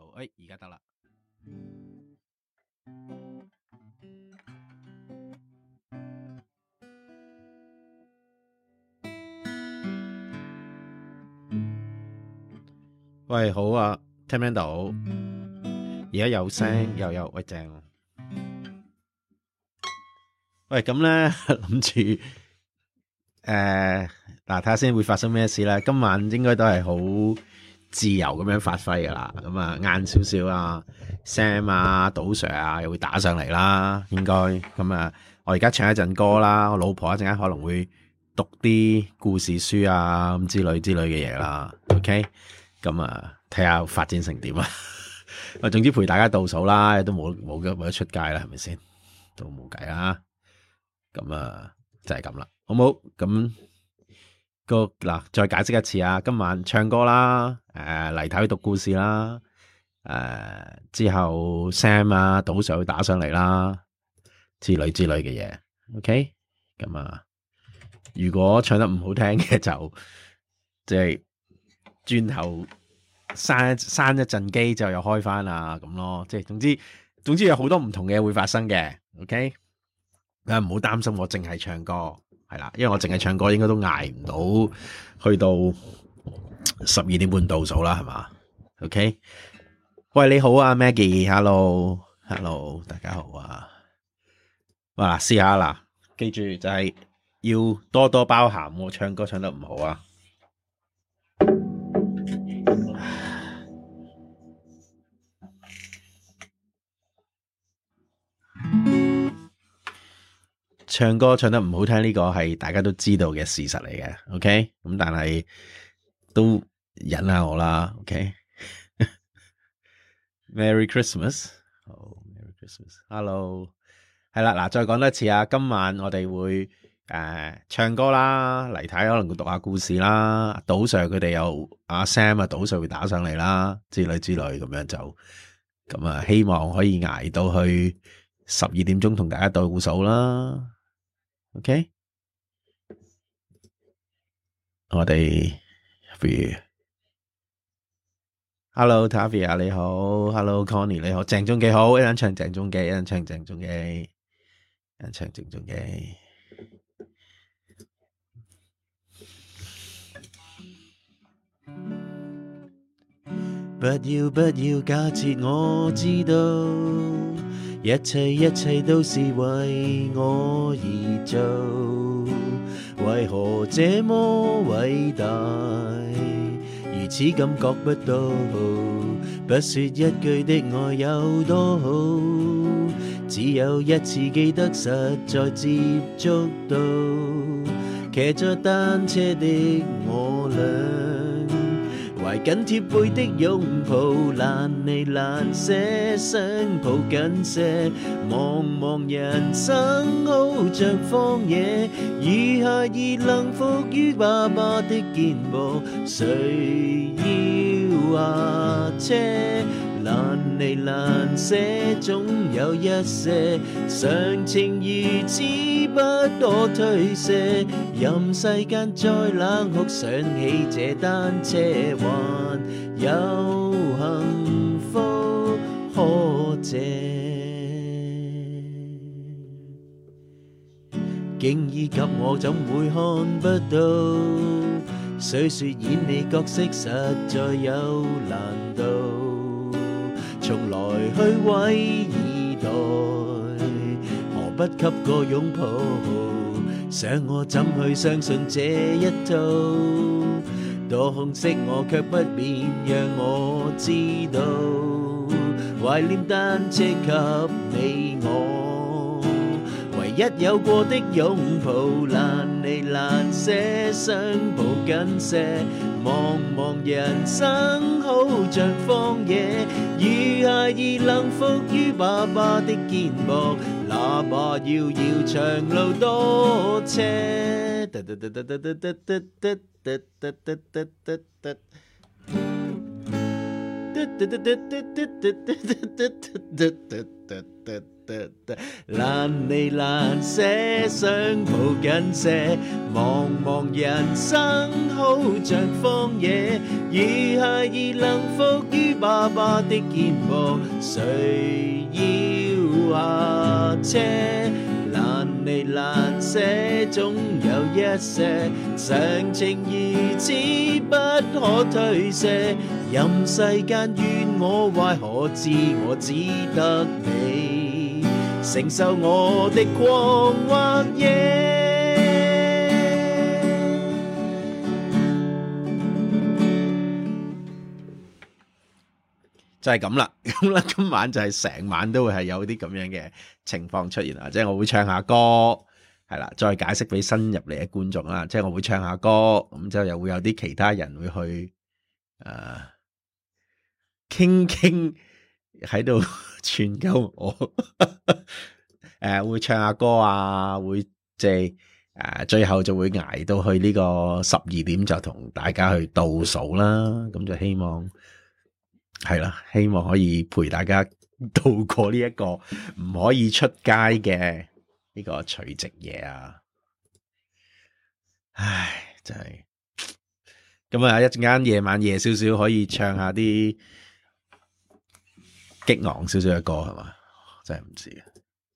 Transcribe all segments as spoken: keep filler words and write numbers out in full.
誒，而家得啦。喂，好啊，聽唔聽到？而家有聲又有，喂正。喂，咁咧諗住誒，嗱睇下先會發生咩事啦。今晚應該都係好自由咁樣發揮噶啦。咁啊，晏少少啊 ，Sam 啊，賭 Sir 啊，又會打上嚟啦。應該咁啊，我而家唱一陣歌啦。我老婆一陣間可能會讀啲故事書啊，咁之類之類嘅嘢啦。OK。咁啊，睇下發展成點啊！我總之陪大家倒數啦，都冇冇冇得出街啦，係咪先？都冇計啦。咁啊，就係咁啦，好冇？咁個嗱，再解釋一次啊！今晚唱歌啦，誒黎太去讀故事啦，誒、呃、之後 Sam 啊，賭 Sir 會打上嚟啦，之類之類嘅嘢。OK，咁啊，如果唱得唔好聽嘅就即係。轉頭閂閂一陣機就又開翻啦咁咯，即係總之總之有好多唔同嘅嘢會發生嘅 ，OK？啊唔好擔心，我淨係唱歌係啦，因為我淨係唱歌應該都捱唔到去到十二點半倒數啦，係嘛 ？OK？ 喂你好啊 Maggie，Hello，Hello， 大家好啊！哇，試下啦，記住就係要多多包涵，我唱歌唱得唔好啊！唱歌唱得唔好聽呢個係大家都知道嘅事實嚟嘅 ，OK？ 咁但係都忍下我啦 ，OK？Merry Christmas，好、oh, Merry Christmas，Hello， 係啦，嗱，再講多一次啊，今晚我哋會誒、呃、唱歌啦，黎太可能會讀下故事啦，賭 Sir 佢哋有阿 Sam 啊，賭 Sir 會打上嚟啦，之類之類咁樣就咁啊，希望可以捱到去十二點鐘同大家倒數啦。OK， 我哋不如 Hello Tavia 你好 ，Hello Connie 你好，鄭中基好，一人唱鄭中基，一人唱鄭中基，一人唱鄭中基。不要不要假設我知道。一切一切都是為我而做，為何這麼偉大，如此感覺不到，不說一句的愛有多好，只有一次記得實在接觸到，騎着單車的我倆，懷緊貼背的擁抱，難離難捨，想抱緊些，茫茫人生好像荒野，如孩兒能伏於爸爸的肩膊，誰要下車？難離難捨，總有一些常情如此不可推卸，任世間再冷酷，想起這單車還有幸福可借。經已給我怎會看不到，雖說演你角色實在有難度，從來去毀以待，何不給個擁抱？想我怎去相信這一套？多空隙我卻不免讓我知道，懷念單車給你我，唯一有過的擁抱，難離難捨，想抱緊些。茫茫人生好像荒野，如孩兒能伏於爸爸的肩膊，哪怕遙遙長路多車。難離難捨，想抱緊些，茫茫人生好像荒野， 如孩兒能伏於爸爸的肩膊，誰要下車？難離難捨，總有一些常情如此不可推卸。任世間怨我壞，可知我只得你承受我的狂或野。就係咁啦，咁啦，今晚就係成晚都會係有啲咁樣嘅情況出現啦，即係我會唱下歌，係啦，再解釋俾新入嚟嘅觀眾啦，即係我會唱下歌，咁之後又會有啲其他人會去誒傾傾喺度串鳩我，誒、呃、會唱下歌啊，會即係誒最後就會捱到去呢個十二點就同大家去倒數啦，咁就希望。係啦，希望可以陪大家度過呢一個唔可以出街嘅呢個除夕夜啊！唉，真係咁啊！一陣間夜晚夜少少可以唱下啲激昂少少嘅歌係嘛？真係唔知啊！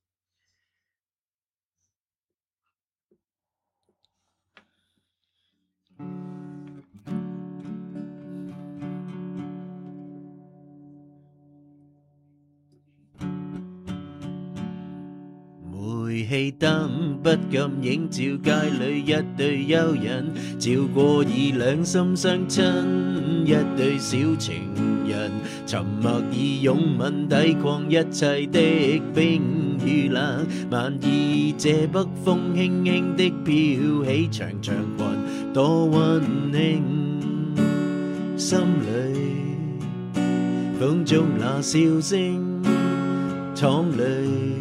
煤氣燈不禁映照街裏一對幽人，照過已兩心相親一對小情人，沉默以擁吻抵抗一切的冰與冷。萬二這北風輕輕的飄起長長裙，多溫馨，心裏風中那笑聲淌淚。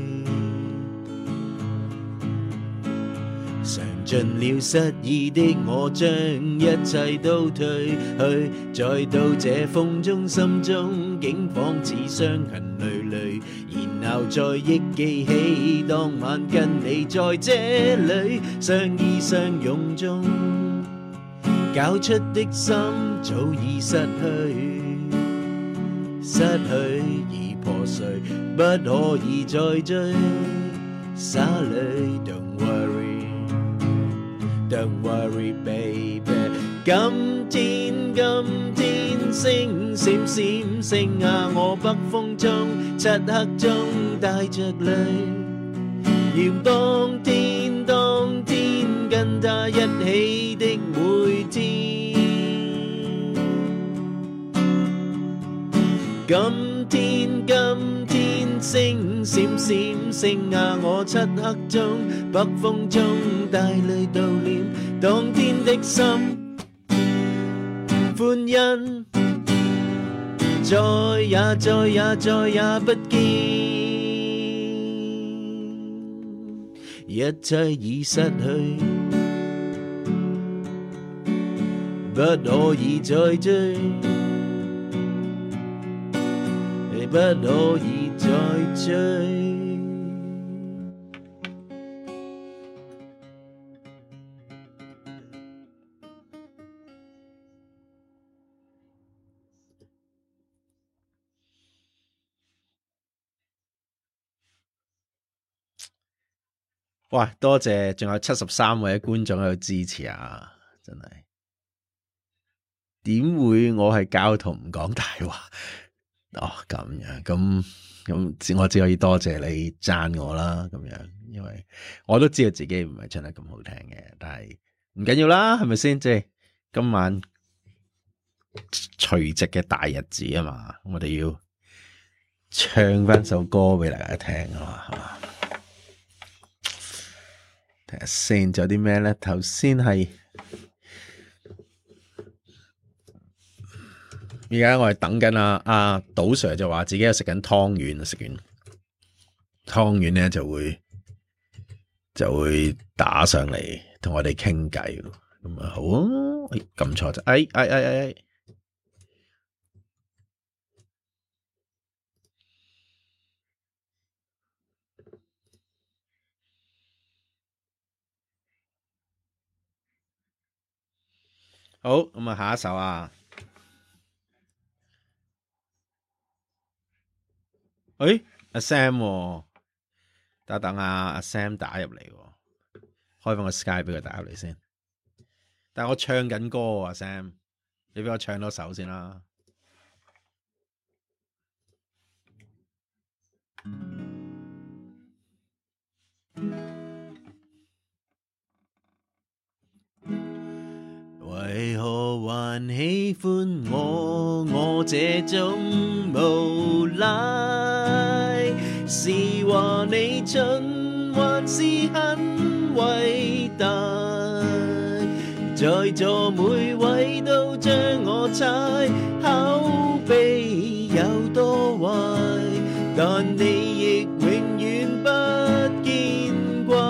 嘗盡了失意的我，將一切都退去，再到這風中，心中竟仿似傷痕累累，然後再憶記起當晚跟你在這裏相依相擁中，搞出的心早已失去，失去已破碎，不可以再追。Sorry, don't worry.Don't worry, baby。今天今天星閃閃星呀，我北風中漆黑中帶着淚，遙當天當天跟他一起的每天。今天今天星閃閃星呀，我漆黑中北風中帶淚悼念當天的心，歡欣再也再也再也不見，一切已失去，不可以再追，不可以再追。哇！多謝，仲有七十三位觀眾喺度支持啊！真係點會我係教徒唔講大話？哦，咁樣咁咁，我只可以多謝你讚我啦。咁樣，因為我都知道自己唔係唱得咁好聽嘅，但係唔緊要啦，係咪先？即係今晚除夕嘅大日子啊嘛，我哋要唱翻首歌俾大家聽啊嘛，係嘛？睇下先，仲有啲咩咧？頭先係而家我係等緊啊阿賭 Sir 就話自己有食緊湯圓，食完湯圓咧就會就會打上嚟同我哋傾偈，咁啊好啊，哎撳錯咗，哎哎哎哎哎，好，咁啊下一首啊。 誒，阿 Sam，、哦、等等啊，阿 Sam 打入嚟，開翻個 Skype 俾佢打入嚟先。但係我唱緊歌啊 ，Sam， 你俾我唱多首先啦。為何還喜歡我？我這種無賴，是話你蠢，還是很偉大？在座每位都將我猜，口碑有多壞，但你亦永遠不見怪，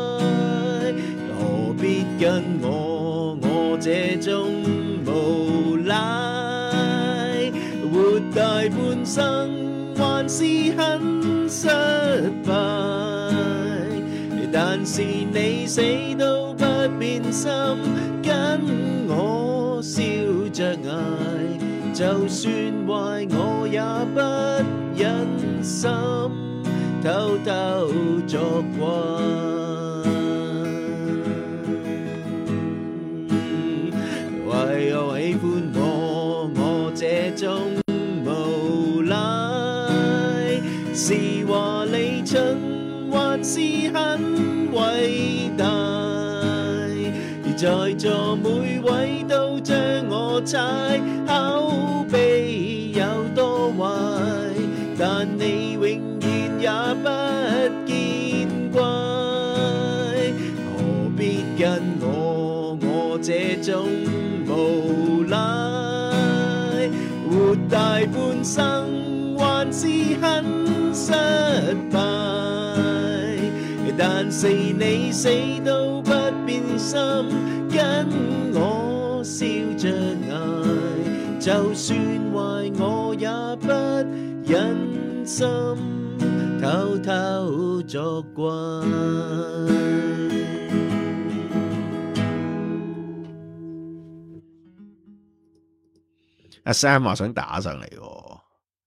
何必跟我我這種無賴，活大半生還是很失敗，但是你死都不變心，跟我笑着捱，就算壞我也不忍心偷偷作怪。為何喜歡我我這種無賴，是話你蠢還是很偉大？在座每位都將我猜，口碑有多壞，但你永遠也不見怪，何必跟我我這種無賴，活大半生還是很失敗，但是你死都不變心，跟我笑着捱，就算壞我也不忍心偷偷作怪。阿 Sam 話想打上嚟喎，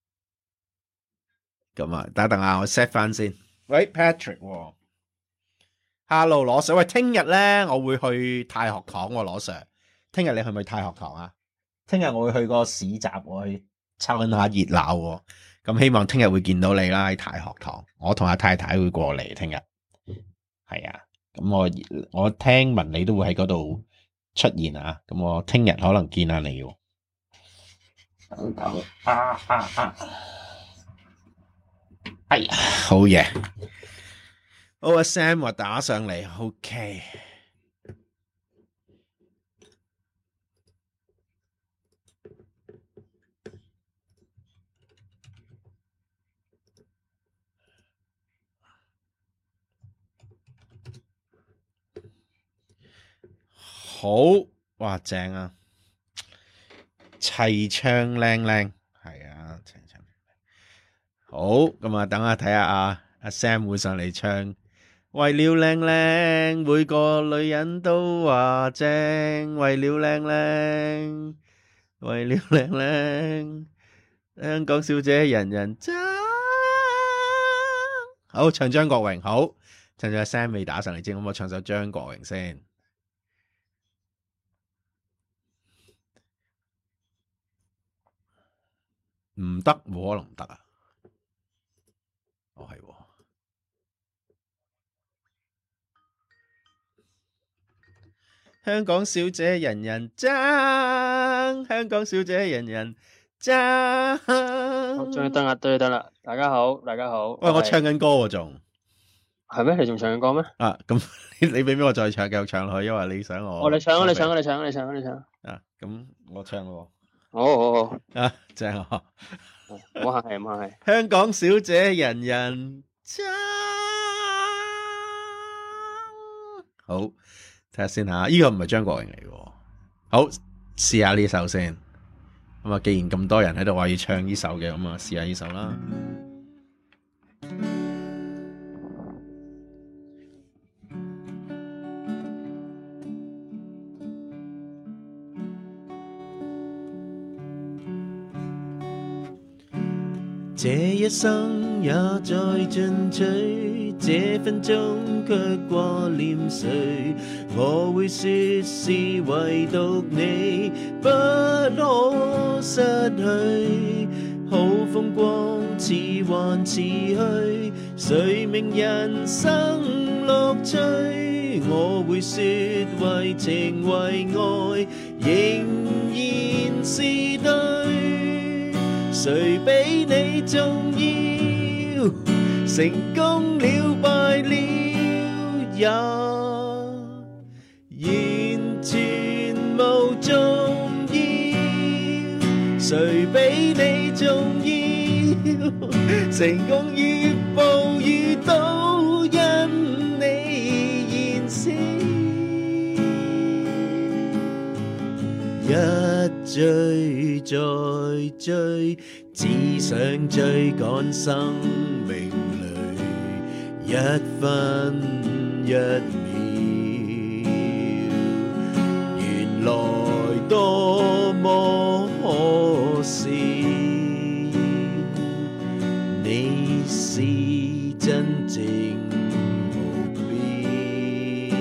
咁啊，等等啊，我 set 翻先。喂 ，Patrick，Hello，羅 Sir，喂，聽日咧我會去太學堂喎，羅 Sir，聽日你去唔去太學堂啊？聽日我會去個市集，我去參下熱鬧，咁希望聽日會見到你啦喺太學堂。我同阿太太會過嚟聽日，係啊，咁我我聽聞你都會喺嗰度出現啊，咁我聽日可能見下你喎。啊啊啊！哎呀，好嘢！好啊 ，Sam 話打上嚟 ，OK。好，哇，正啊！齊唱靚靚，係啊，齊唱靚靚。好，咁啊，等下睇下啊，阿 Sam 會上嚟唱。為了靚靚，每個女人都話正。為了靚靚，為了靚靚，香港小姐人人爭。好，唱張國榮。好，趁住阿 Sam 未打上嚟先，咁我唱首張國榮先。唔得，冇可能唔得啊！哦，係喎。香港小姐人人爭，香港小姐人人爭。 終於得啦，終於得啦！大家好，大家好。 喂，我唱緊歌喎，仲係咩？你仲唱緊歌咩？ 啊，咁你你俾俾我再唱，繼續唱落去，因為你想我。 哦，你唱啊！你唱啊！你唱啊！你唱啊！你唱啊！咁我唱咯。 好好好。啊， 正啊！ 唔好客氣，唔好客氣。 香港小姐人人爭。好，睇下先吓，呢個唔係張國榮嚟嘅。好，試下呢首先。咁啊，既然咁多人喺度話要唱呢首嘅，咁啊，試下呢首啦。這一生也在進取，這分鐘卻掛念誰？我會說是唯獨你不可失去，好風光似幻似虛，誰明人生樂趣？我會說為情為愛仍然是對，誰比你重要？成功了敗了也完全無重要，誰比你重要？成功與暴雨都因你燃燒，一追再追，只想追趕生命裏一分一秒，原來多麼可笑，你是真正目標，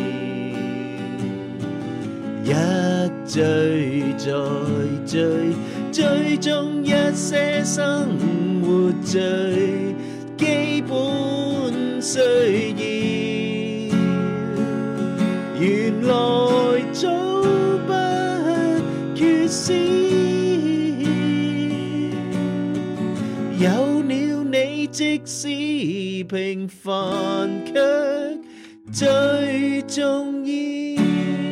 一追再追，追蹤一些生活最基本需要，原來早不缺少，有了你即使平凡卻最重要。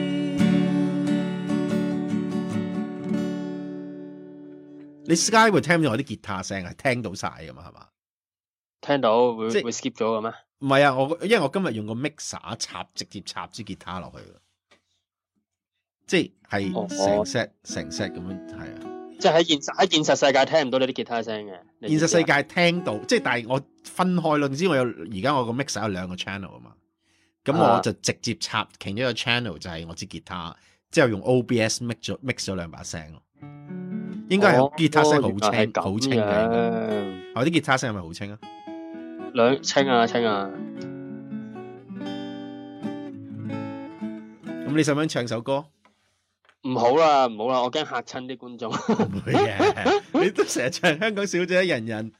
你 Sky 會聽到我啲吉他聲係聽到晒噶嘛？係嘛？ 聽到會即會 skip 咗嘅咩？ 唔係啊，我因為我今日用個 mixer 插直接插支吉他落去嘅，即係成 set 成 set 咁樣，係啊。 即係喺現實喺現實世界聽唔到你啲吉他聲嘅。 現實世界聽到，即係但係我分開咯。你知我有而家我個 mixer 有兩個 channel 啊嘛，咁我就直接插其中一個 channel 就係我支吉他，之後用 O B S mix 咗 mix 咗兩把聲咯。應該係吉他聲好清好、哦、清嘅。我啲吉他聲係咪好清啊？ 兩清啊清啊。 咁你想唔想唱首歌？ 唔好啦唔好啦，我驚嚇親啲觀眾。 唔會嘅，你都成日唱香港小姐人人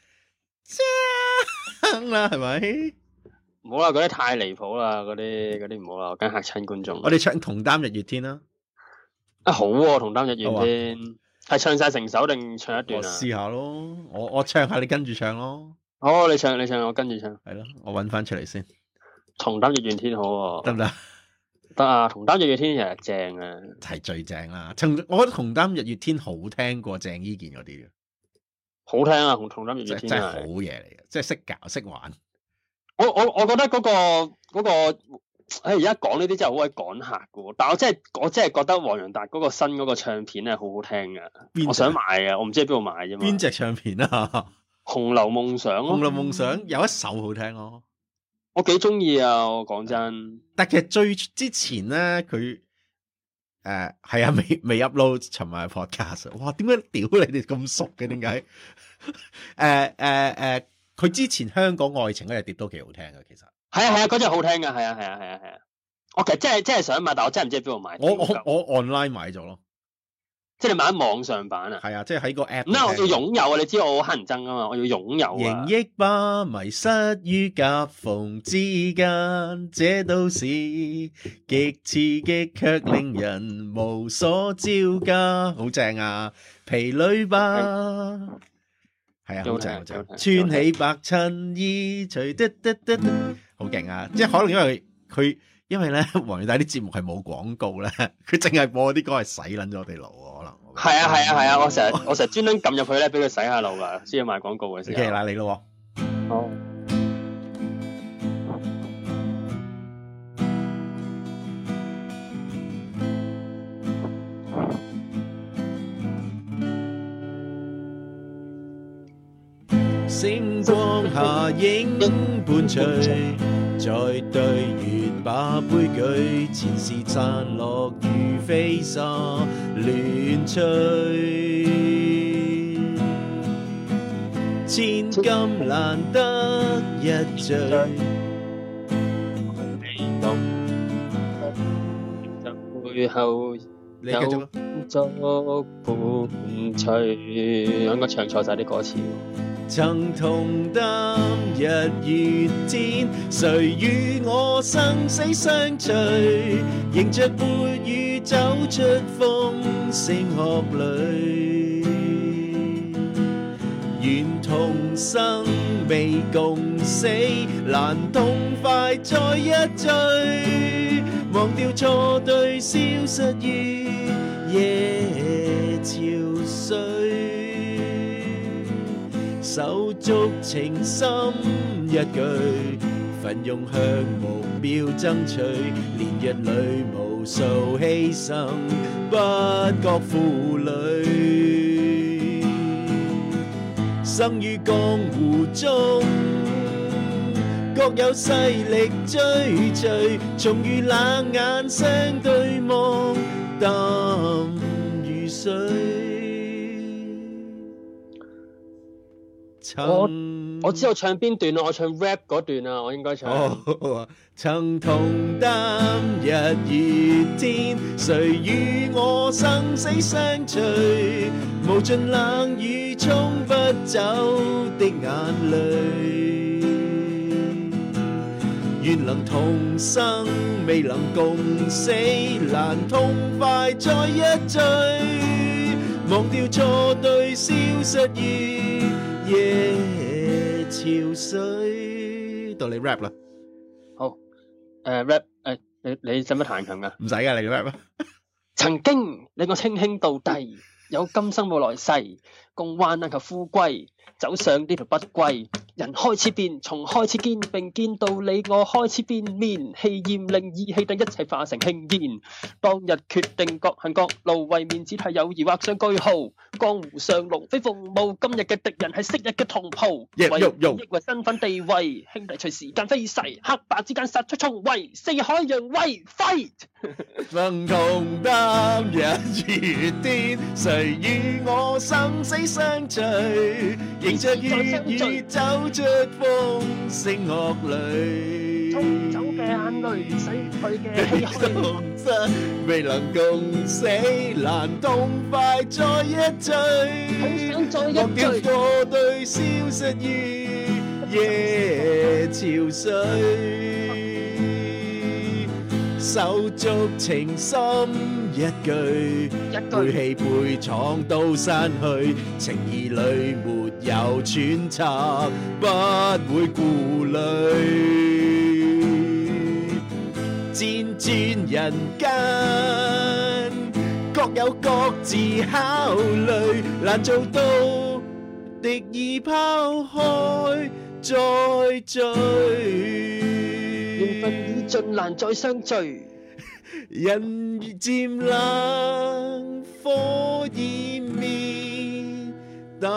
唱啦，係咪？ 唔好啦，嗰啲太離譜啦，嗰啲嗰啲唔好啦，我驚嚇親觀眾。 我哋唱同擔日月天啦。 啊好喎，同擔日月天係唱晒成首定唱一段啊？ 我試下咯，我我唱下，你跟住唱咯。 好，你唱你唱，我跟住唱。 係咯，我搵翻出嚟先。 同擔日月天好喎， 得唔得？ 得啊，同擔日月天其實正啊， 係最正啦。我覺得同擔日月天好聽過鄭伊健嗰啲嘅， 好聽啊！同同擔日月天真係好嘢嚟嘅，即係識搞識玩。 我我我覺得嗰、嗰個嗰、嗰個，誒而家講呢啲真係好鬼趕客嘅，但係我真係我真係覺得黃洋達嗰個新嗰個唱片係好好聽嘅，我想買啊，我唔知喺邊度買啫嘛。邊隻唱片啊？ 紅樓夢想咯， 紅樓夢想有一首好聽咯。 我幾中意啊！我講真， 但其實最之前咧，佢誒係啊，未未 upload 尋日 podcast。哇，點解屌你哋咁熟嘅？點解？誒誒誒，佢、呃呃、之前香港愛情嗰隻碟都幾好聽嘅，其實係啊係啊，嗰隻好聽噶，係啊係啊係啊係啊。我其實真係真係想買，但我真係唔知喺邊度買。 我我我 online 買咗咯。即係你買喺網上版啊？ 係啊，即係喺個 app。 咁我要擁有啊！你知道我好乞人憎啊嘛，我要擁有啊！ 形憶吧，迷失於夾縫之間，這都是極刺激卻令人無所招架。好正啊！疲累吧，係啊，好正好正。穿起白襯衣，隨得得得得，好勁啊！即係可能因為佢。因為咧，黃洋達啲節目係冇廣告咧，佢淨係播啲歌係洗撚咗我哋腦，可能。 係啊係啊係啊！我成日我成日專登撳入去咧，俾佢洗下腦噶，先要賣廣告嘅時候。 OK，嗱你咯。 好。 星光下影伴隨。在對月把杯舉，前事散落如飛沙亂吹。千咁難得一聚。 背後有足伴隨，應該唱錯晒啲歌詞。 曾同擔日月天，誰與我生死相隨？迎着潑雨走出風聲鶴裏，願同生未共死，難痛快再一聚，忘掉錯對，消失於夜潮水。手足情深一句，奮勇向目標爭取，連日裏無數犧牲，不覺負累。生於江湖中，各有勢力追隨，重遇冷眼相對望，淡如水。 我我知道唱邊段啊，我唱 rap 嗰段啊，我應該唱。 哦、曾同擔日月天，誰與我生死相隨？無盡冷雨沖不走的眼淚，願能同生，未能共死，難痛快再一聚，忘掉錯對，消失於夜潮水。到你 rap 啦。 好，誒、uh, rap 誒、uh, 你你使乜彈琴噶？ 唔使噶，你 rap 啊。 曾經令我稱兄道弟，有今生冇來世，共患難求富貴，走上呢條不歸。人開始變，從開始堅並見道理，我開始變面，氣焰令意氣等一切化成輕煙。當日決定各行各路，為面子替友誼畫上句號。江湖上龍飛鳳舞，今日嘅敵人係昔日嘅同袍。 Yeah, 為利益為身份地位，兄弟隨時間飛逝，黑白之間殺出重圍，四海揚威 fight。 曾同擔日月天，誰與我生死相隨？迎着血雨走出風聲鶴裏， 沖走嘅眼淚，洗去嘅唏噓， 未能共死，難痛快再一聚， 好想再一聚， 忘掉錯對，消失於夜潮水。手足情深一句，背棄背闖到山去，情義裏沒有揣測，不會顧慮。輾轉人間，各有各自考慮，難做到敵意拋開再聚。 緣分已盡，難再相聚。 人漸冷，火焰滅，淡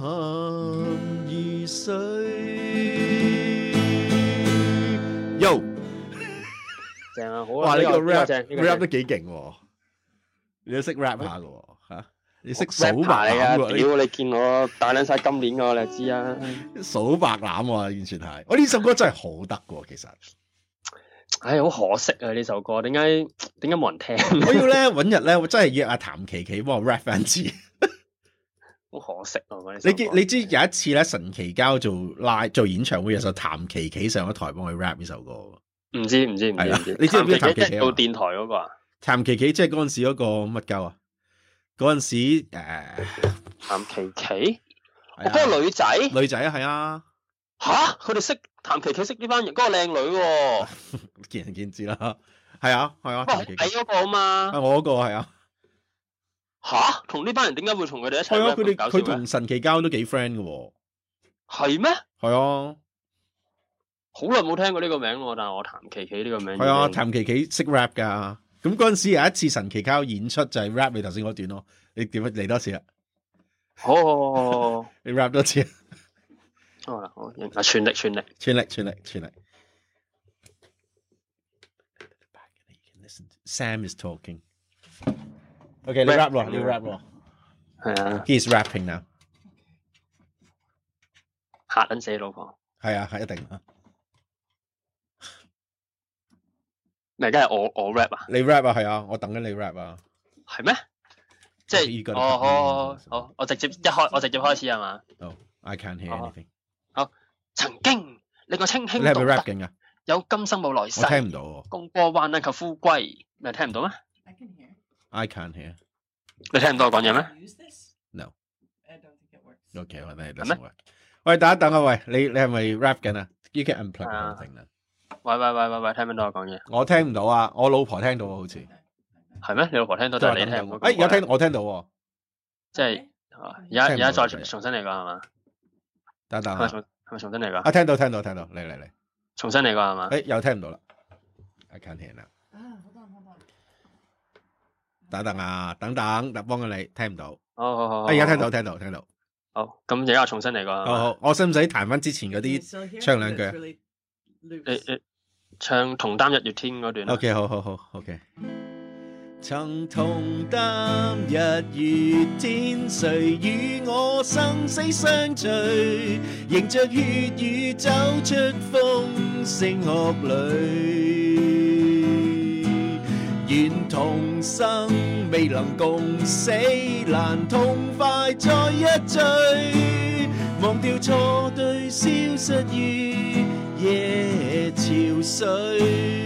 如水。Yo， 正啊，好啊！ 哇，你個 rap rap 得幾勁喎！你都識 rap 下嘅喎嚇，你識數白啊！ 欖喎！ 屌你見我大撚晒今年嘅，你知啊？ 數白欖喎，完全係。我呢首歌真係好得嘅喎，其實。 唉，好可惜啊！呢首歌點解點解冇人聽？ 我要咧揾日咧，我真係約阿譚琪琪幫我 rap 翻次。 好可惜啊！ 你知你知有一次咧，神奇交做 live 做演唱會，有首譚琪琪上咗台幫佢 rap 呢首歌。唔知唔知唔知唔知？ 你知唔知譚琪琪做電台嗰個啊？ 譚琪琪即係嗰陣時嗰個乜鳩啊？嗰陣時誒， 譚琪琪，我嗰個女仔， 女仔啊，係啊。 吓，佢哋識譚琪琪識呢班人，嗰個靚女喎， 見仁見智啦。係啊係啊，譚琪琪係嗰個啊嘛。 係我嗰個係啊。 吓，同呢班人點解會同佢哋一齊？係啊， 佢哋佢同神奇交都幾 friend 嘅喎。 係咩？ 係啊。 好耐冇聽過呢個名喎，但係我譚琪琪呢個名。 係啊，譚琪琪識 rap 噶。咁嗰陣時有一次神奇交演出就係 rap 你頭先嗰段咯。你點嚟多次啊？ 好，好，好，好， 你 rap 多次。 好啦，好，啊，全力，全力， 全力，全力，全力。Sam is talking. Okay, 你 rap 咯，你 rap 咯。 係啊。 He's rapping now. 嚇撚死老婆。 係啊，係一定啊。 咪梗係我我 rap 啊？ 你 rap 啊？係啊，我等緊你 rap 啊。 係咩？即係哦，好好，我直接一開，我直接開始係嘛？ 哦 I can't hear anything。 好，曾經令我清輕。 你係咪 rap 勁啊？ 有今生冇來世。 我聽唔到喎。 共過患難求富貴，你聽唔到咩 I can hear. I can't hear。 你聽唔到我講嘢咩 ？No。 I don't think it works. Okay，我哋 doesn't work。喂，等一等啊！喂，你你係咪 rap 緊啊？You can unplug the whole thing 啦。 喂喂喂喂喂，聽唔聽到我講嘢？ 我聽唔到啊，我老婆聽到啊，好似。 係咩？你老婆聽到，但係你聽唔到。 誒，而家聽，我聽到喎。 即係，而家而家再重新嚟過係嘛？ 等等。 係咪重係咪重新嚟過？ 啊，聽到聽到聽到，嚟嚟嚟。 重新嚟過係嘛？ 誒，又聽唔到啦。I can't hear now。 啊，好等好等。 等等啊，等等，特幫緊你，聽唔到。 好好好。 而家聽到聽到聽到。 好，咁而家重新嚟過。 好好，我使唔使彈翻之前嗰啲唱兩句？ 你你唱同擔日月天嗰段。 OK， 好好好 ，OK。曾同擔日月天，誰與我生死相隨？迎着血雨走出風聲鶴裏，願同生未能共死，難痛快再一醉，忘掉錯對，消失於夜潮水。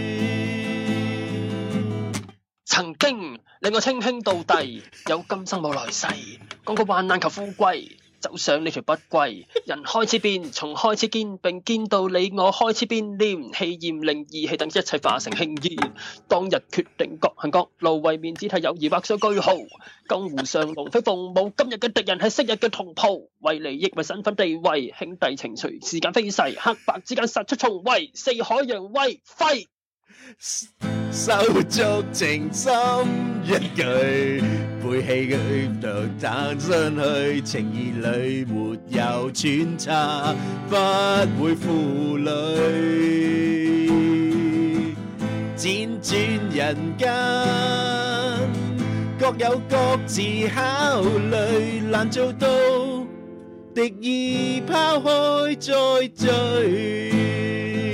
曾經令我稱兄道弟，有今生冇來世，講過患難求富貴，走上呢條不歸。人開始變，從開始見，並見到你我開始變臉，氣焰令義氣等一切化成輕煙。當日決定各行各路，為面只睇友誼畫上句號。江湖上龍飛鳳舞，今日嘅敵人係昔日嘅同袍，為利益為身份地位，兄弟情隨時間飛逝，黑白之間殺出重圍，四海揚威揮。 手足情深一句，背棄佢就彈上去，情義裏沒有穿插，不會負累。輾轉人間，各有各自考慮，難做到敵意拋開再聚。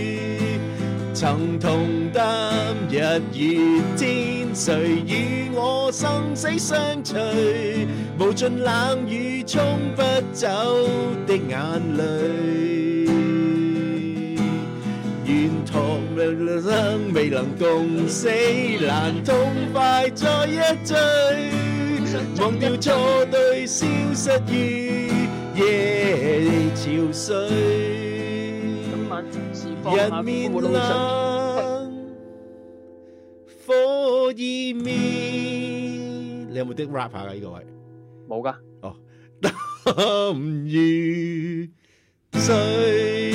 曾同擔日月天，誰與我生死相隨？無盡冷雨沖不走的眼淚，願托生未能共死，難痛快再一醉，忘掉錯對，消失於夜潮水。人面冷，火已滅。你有冇啲 rap 下噶呢個位？ 冇噶。 哦，淡如水。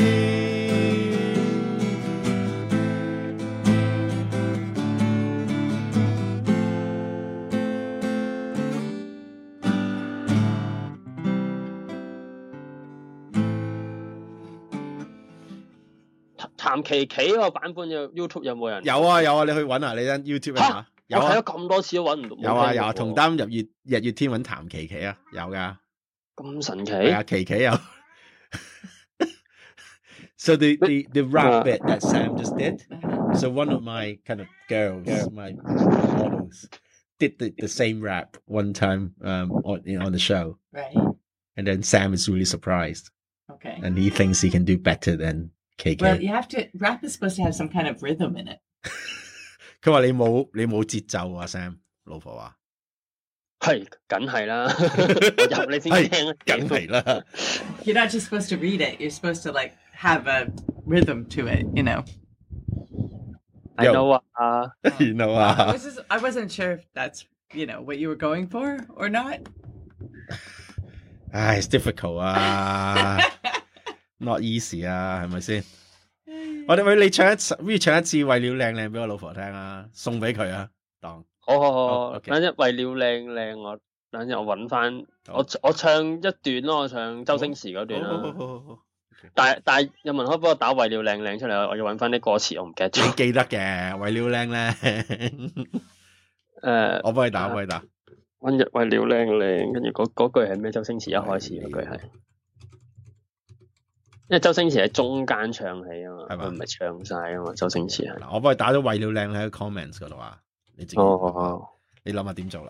譚琪琪嗰個版本有 YouTube 有冇人？ 有啊有啊，你去揾下，你喺 YouTube 下。有我睇咗咁多次都揾唔到。 有啊有啊，同擔日月日月天揾譚琪琪啊，有噶。 咁神奇？ 係啊，琪琪有。So the the the rap bit that Sam just did. So one of my kind of girls, my models, did the the same rap one time um on you know, on the show. Right. And then Sam is really surprised. Okay. And he thinks he can do better than K K. Well, you have to rap is supposed to have some kind of rhythm in it. 佢話你冇你冇節奏啊 ，Sam 老婆話係，梗係啦，我入你先聽啊， 梗係啦。 You're not just supposed to read it. You're supposed to like have a rhythm to it, you know. I know 啊 ，you know 啊。 I was just, I wasn't sure if that's you know what you were going for or not. 唉 ，it's difficult 啊，not easy 啊，係咪先？我哋喂你唱一次，不如唱一次為了靚靚俾我老婆聽啊，送俾佢啊，當好好好，等陣為了靚靚，我等陣我搵翻，我我唱一段咯，我唱周星馳嗰段啦。好好好。但係但係有文可以幫我打為了靚靚出嚟，我要搵翻啲歌詞，我唔記得咗。 你記得嘅，為了靚靚。 誒， 我幫你打，我幫你打。 溫日為了靚靚，跟住嗰嗰句係咩？周星馳一開始嗰句係。 因為周星馳喺中間唱起啊嘛， 係嘛？ 佢唔係唱晒啊嘛，周星馳係。 嗱，我幫你打咗為了靚喺個 comments 嗰度啊，你自己， 哦哦你諗下點做啦？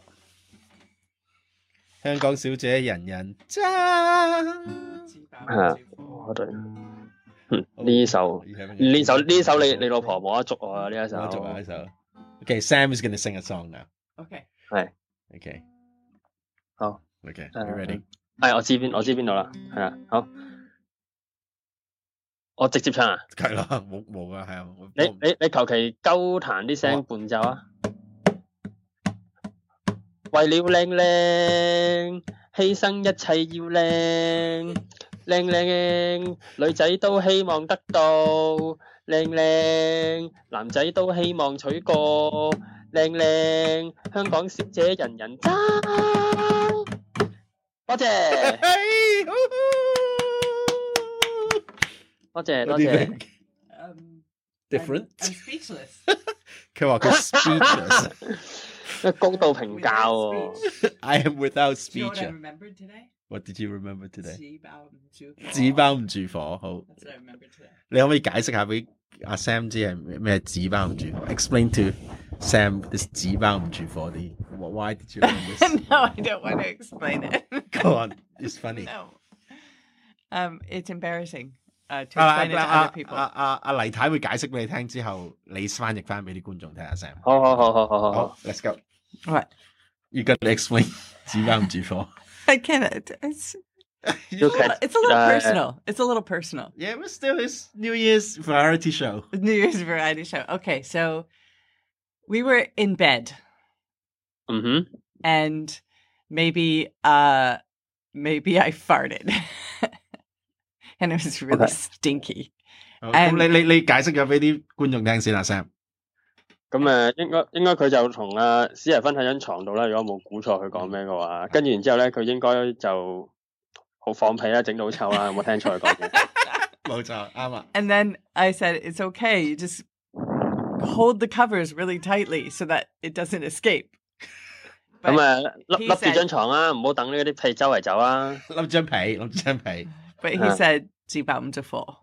香港小姐人人爭， 係啊，我對，呢首呢首呢首你你老婆冇得捉我啊呢一首。冇得捉啊呢首。 Okay, Sam is gonna sing a song now. Okay. 係。 Okay. 好。 Okay. You ready? 係，我知邊我知邊度啦。係啊，好。我直接唱啊。 係啦，冇冇噶，係啊。 你你你求其鳩彈啲聲伴奏啊。為了靚靚，犧牲一切要靚，靚靚女仔都希望得到，靚靚男仔都希望娶過，靚靚香港小姐人人爭。多謝，多謝多謝。 Different. I'm speechless. 佢話佢 speechless. 高度評價喎。 I am without speech. You know what I remembered today? What did you remember today? 紙包唔住火。 紙包唔住火，好。 That's what I remembered today. 你可唔可以解釋下俾阿 Sam 知係咩紙包唔住火 ？Explain to Sam this 紙包唔住火啲。Why did you learn this? No, I don't want to explain it. Go on, it's funny. No. Um, it's embarrassing. Uh, to explain it to other people. 阿阿阿黎太會解釋俾你聽之後，你翻譯翻俾啲觀眾聽下 Sam。 好好好好好好好 ，Let's go。 What? You got to explain 紙包唔住火。 I can't. It's it's a little, it's a little personal. It's a little personal. Yeah, but still, it's New Year's variety show. New Year's variety show. Okay, so we were in bed. Mm-hmm. And maybe, uh, maybe I farted. And it was really Okay. stinky. 咁你你你解釋咗俾啲觀眾聽先啦 ，Sam。 咁誒，應該應該佢就同阿史提芬喺張床度啦。如果冇估錯佢講咩嘅話，跟住然之後咧，佢應該就好放屁啦，整到好臭啦。有冇聽錯佢講嘢？ 冇錯，啱啊。 And then I said, it's okay. You just hold the covers really tightly so that it doesn't escape. 咁誒，笠笠住張床啊，唔好等呢啲屁周圍走啊。 笠張被，笠張被。 But he said, 紙包唔住火。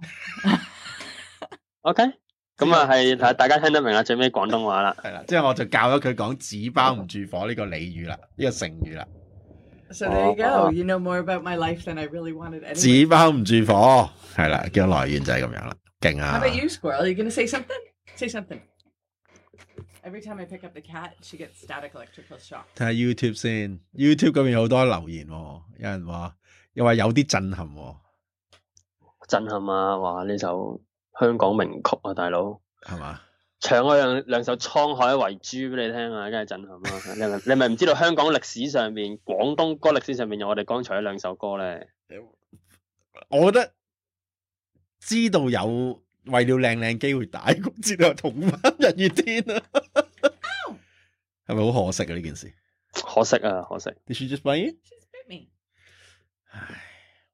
OK，咁啊係睇大家聽得明啦，最尾廣東話啦。 係啦，即係我就教咗佢講紙包唔住火呢個俚語啦，呢個成語啦。 So there you go. You know more about my life than I really wanted. Anyway. 紙包唔住火，係啦，嘅來源就係咁樣啦，勁啊 How about you, Squirrel? Are you gonna say something? Say something. Every time I pick up the cat, she gets static electrical shock. 睇下 YouTube 先 ，YouTube 嗰邊好多留言喎，有人話又話有啲震撼喎。 震撼啊！哇，呢首香港名曲啊，大佬係嘛？ 唱嗰兩兩首《滄海遺珠》俾你聽啊，梗係震撼啦！你咪你咪唔知道香港歷史上面、廣東歌歷史上面有我哋剛才嗰兩首歌咧？ 我覺得知道有為了靚靚機會大過知道有同返日月天啊，係咪好可惜啊呢件事？ 可惜啊，可惜。 Did she just bite you? She's bit me. 唉，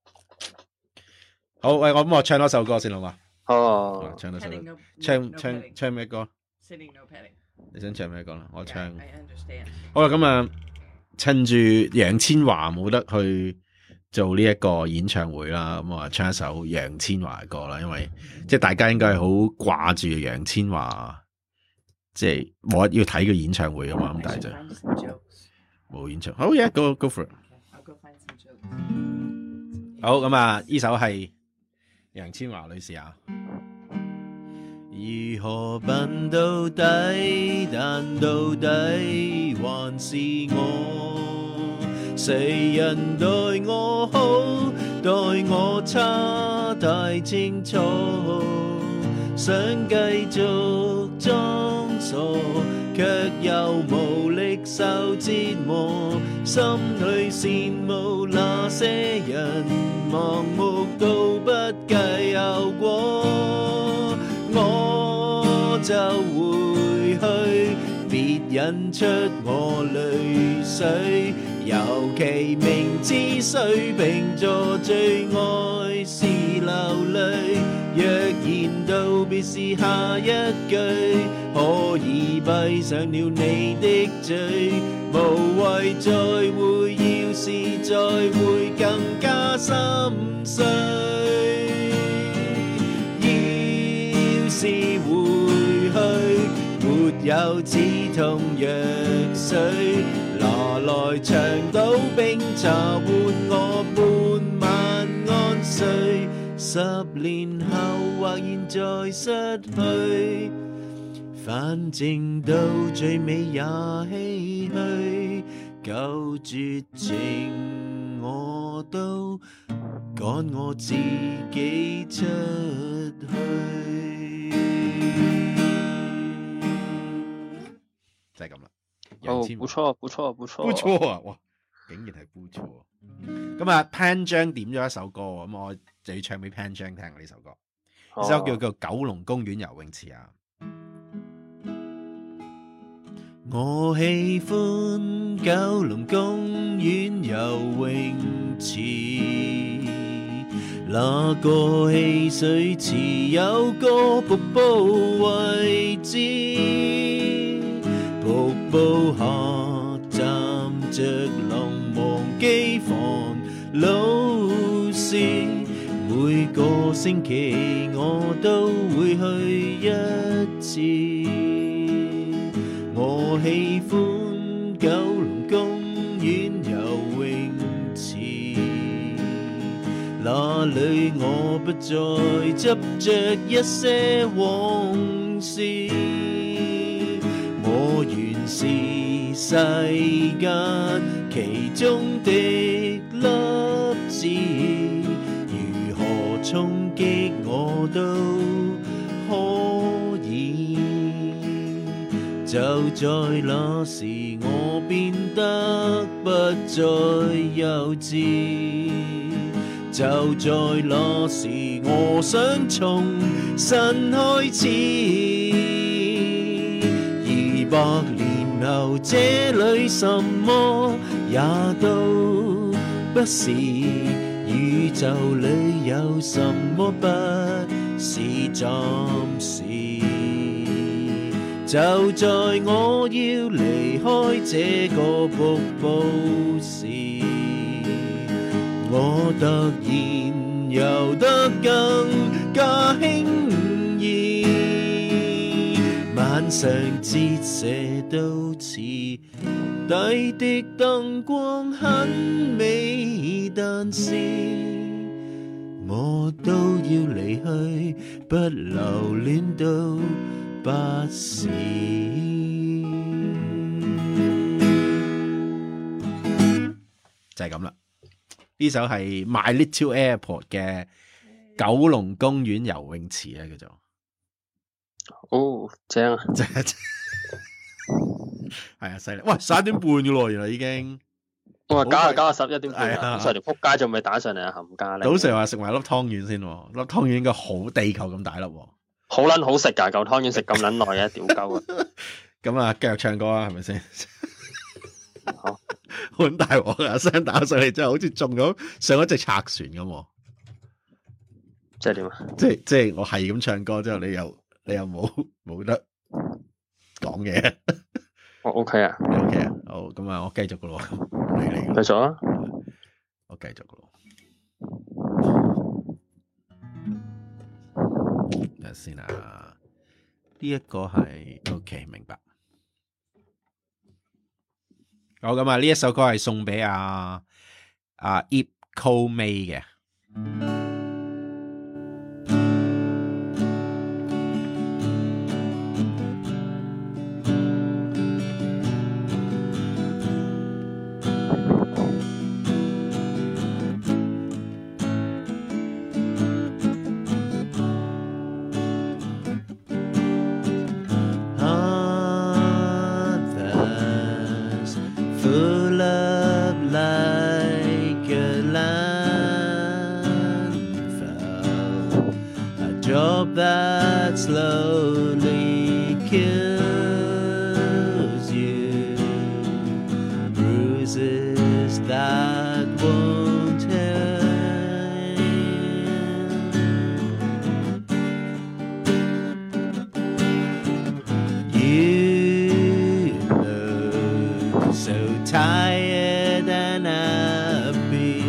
好喂，我咁我唱多首歌先好嘛？ 哦， 唱多首歌 Petting, no- 唱 no 唱 petting. 唱咩歌？ Sitting, no petting. 你想唱咩歌啦？我 Yeah, 唱。 I understand. 好啦，咁啊，趁住楊千嬅冇得去做呢一個演唱會啦，咁我唱一首楊千嬅嘅歌啦，因為即係大家應該係好掛住楊千嬅，即係冇得要睇佢演唱會啊嘛，咁 I 但係 should 就 find some jokes. 冇演唱。好嘢，go go for it。 Okay, I'll go find some jokes. 好，咁啊，呢首係楊千嬅女士啊。如何笨到底，但到底還是我。誰人待我好，待我差太清楚。想繼續裝傻，卻又無力受折磨。心裏羨慕那些人，盲目到不計後果。我就回去，別引出我淚水。尤其明知水瓶座最愛是流淚，若然道別是下一句，可以閉上了你的嘴，無謂再會，要是再會更加心碎。 有止痛藥水，拿來長島冰茶換我半晚安睡。十年後或現在失去，反正到最尾也唏噓。夠絕情我都趕我自己出去，就係咁啦。 哦，不錯，不錯，不錯， 不錯啊！哇，竟然係不錯。咁啊，潘章點咗一首歌，咁我就要唱俾潘章聽呢首歌。呢首叫做《九龍公園游泳池》啊。我喜歡九龍公園游泳池，那個戲水池有個瀑布位置，瀑布下站着龍忘機房老師，每個星期我都會去一次。我喜歡九龍公園游泳池，那裡我不再執着一些往事，我原是世間其中的粒子，如何衝擊我都可以。就在那時我變得不再幼稚，就在那時我想重新開始。二百年後這裡什麼也都不是，宇宙裡有什麼不是暫時。就在我要離開這個瀑布時，我突然游得更加輕易，晚上折射到池底的燈光很美，但是我都要離去，不留戀到不是。就係咁啦。呢首係 My Little Airport 嘅九龍公園游泳池啊，叫做。 哦，正啊！ 正係啊，犀利！喂，十一點半嘅咯，原來已經。 我話搞下搞下十一點半啊， 上條撲街仲未打上嚟啊，冚家咧。 早上話食埋粒湯圓先，粒湯圓應該好地球咁大粒。 好撚好食㗎，嚿湯圓食咁撚耐嘅，屌鳩啊！ 咁啊，繼續唱歌啊，係咪先？ 好， 好大鑊啊！聲打上嚟真係好似中咗上一隻賊船咁。 即係點啊？ 即係即係我係咁唱歌之後，你又你又冇冇得講嘢。 我 OK 啊 ，OK 啊，好，咁啊，我繼續噶咯，嚟嚟， 繼續啊， 我繼續噶咯。睇下先啊，呢一個係 OK， 明白。好，咁啊，呢一首歌係送俾阿阿 Ip Ko May 嘅。That slowly kills you, bruises that won't end. You look so tired and happy.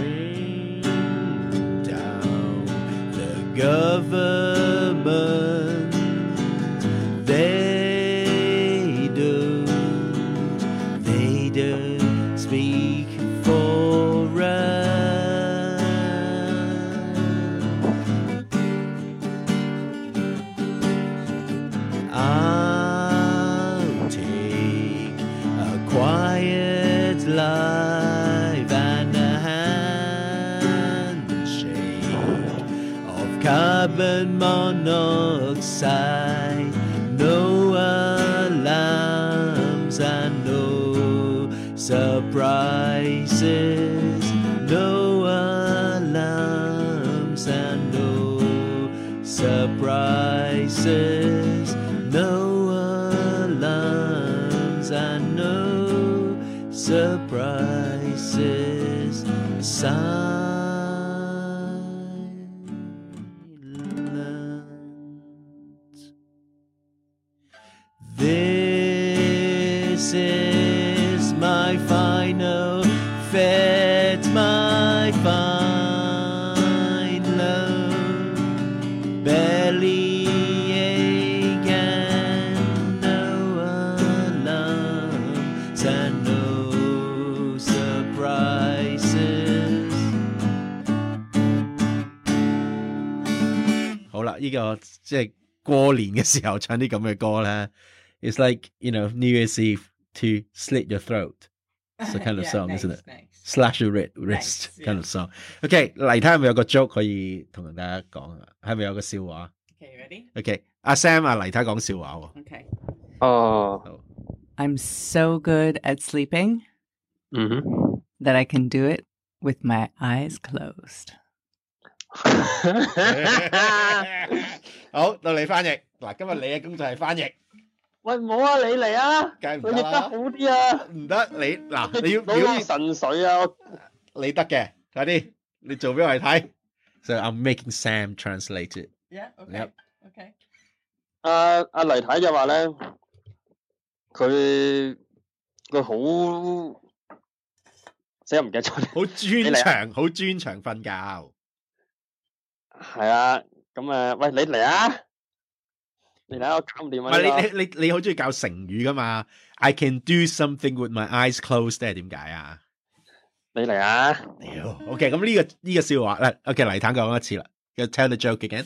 Bring down the government. carbon monoxide. No alarms and no surprises. No alarms and no surprises. No alarms and no surprises. Silence. This is my final fate, my fine love. Belly ache and no alarms and no surprises. 好啦，呢個即係過年嘅時候唱啲咁嘅歌咧。It's like, you know, New Year's Eve to slit your throat. It's a kind of Yeah, song, nice, isn't it? nice. Slash your wrist, Nice, kind yeah. of song. OK， 嚟睇下係咪有個 joke 可以同大家講啊？係咪有個笑話 Okay, you ready? ？OK， 阿 Sam 啊，嚟睇講笑話喎。 Okay. 哦， I'm so good at sleeping 嗯哼， that I can do it with my eyes closed. 好，到你翻譯。嗱，今日你嘅工作係翻譯， 喂，唔好啊，你嚟啊， 梗係唔得你譯得啦好啲啊， 唔得你嗱，你要攞啲表現神水啊， 你得嘅，快啲，你做俾我哋睇。So I'm making Sam translate it. Yeah, okay. Yep. Okay. 阿阿黎太就話咧，佢佢好，死我唔記得咗， 好專長，好專長瞓覺。 係啊，咁誒，喂，你嚟啊！你睇我搞唔掂啊！ 唔係你你你你好中意教成語噶嘛 ？I can do something with my eyes closed，係點解啊？ 你嚟啊！ 屌 ，OK， 咁呢個呢個笑話咧 ，OK， 黎坦講一次啦。要 tell the joke again。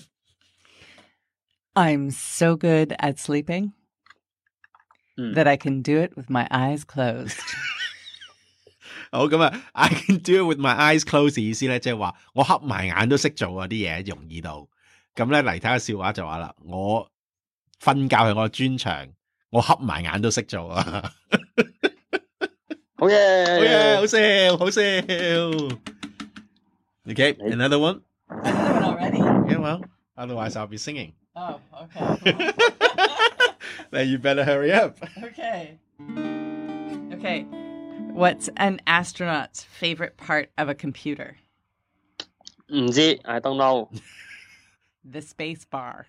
I'm so good at sleeping 嗯 that I can do it with my eyes closed. 好咁啊 ，I can do it with my eyes closed 意思咧，即係話我瞌埋眼都識做啊啲嘢，容易到。咁咧黎坦嘅笑話就話啦，我瞓覺係我嘅專長，我瞌埋眼都識做啊！ 好嘢， 好嘢，好笑，好笑。Okay，another one. Another one already? Yeah, well, otherwise I'll be singing. Oh, okay. Then you better hurry up. Okay. Okay. What's an astronaut's favorite part of a computer? 唔知 I don't know. The space bar.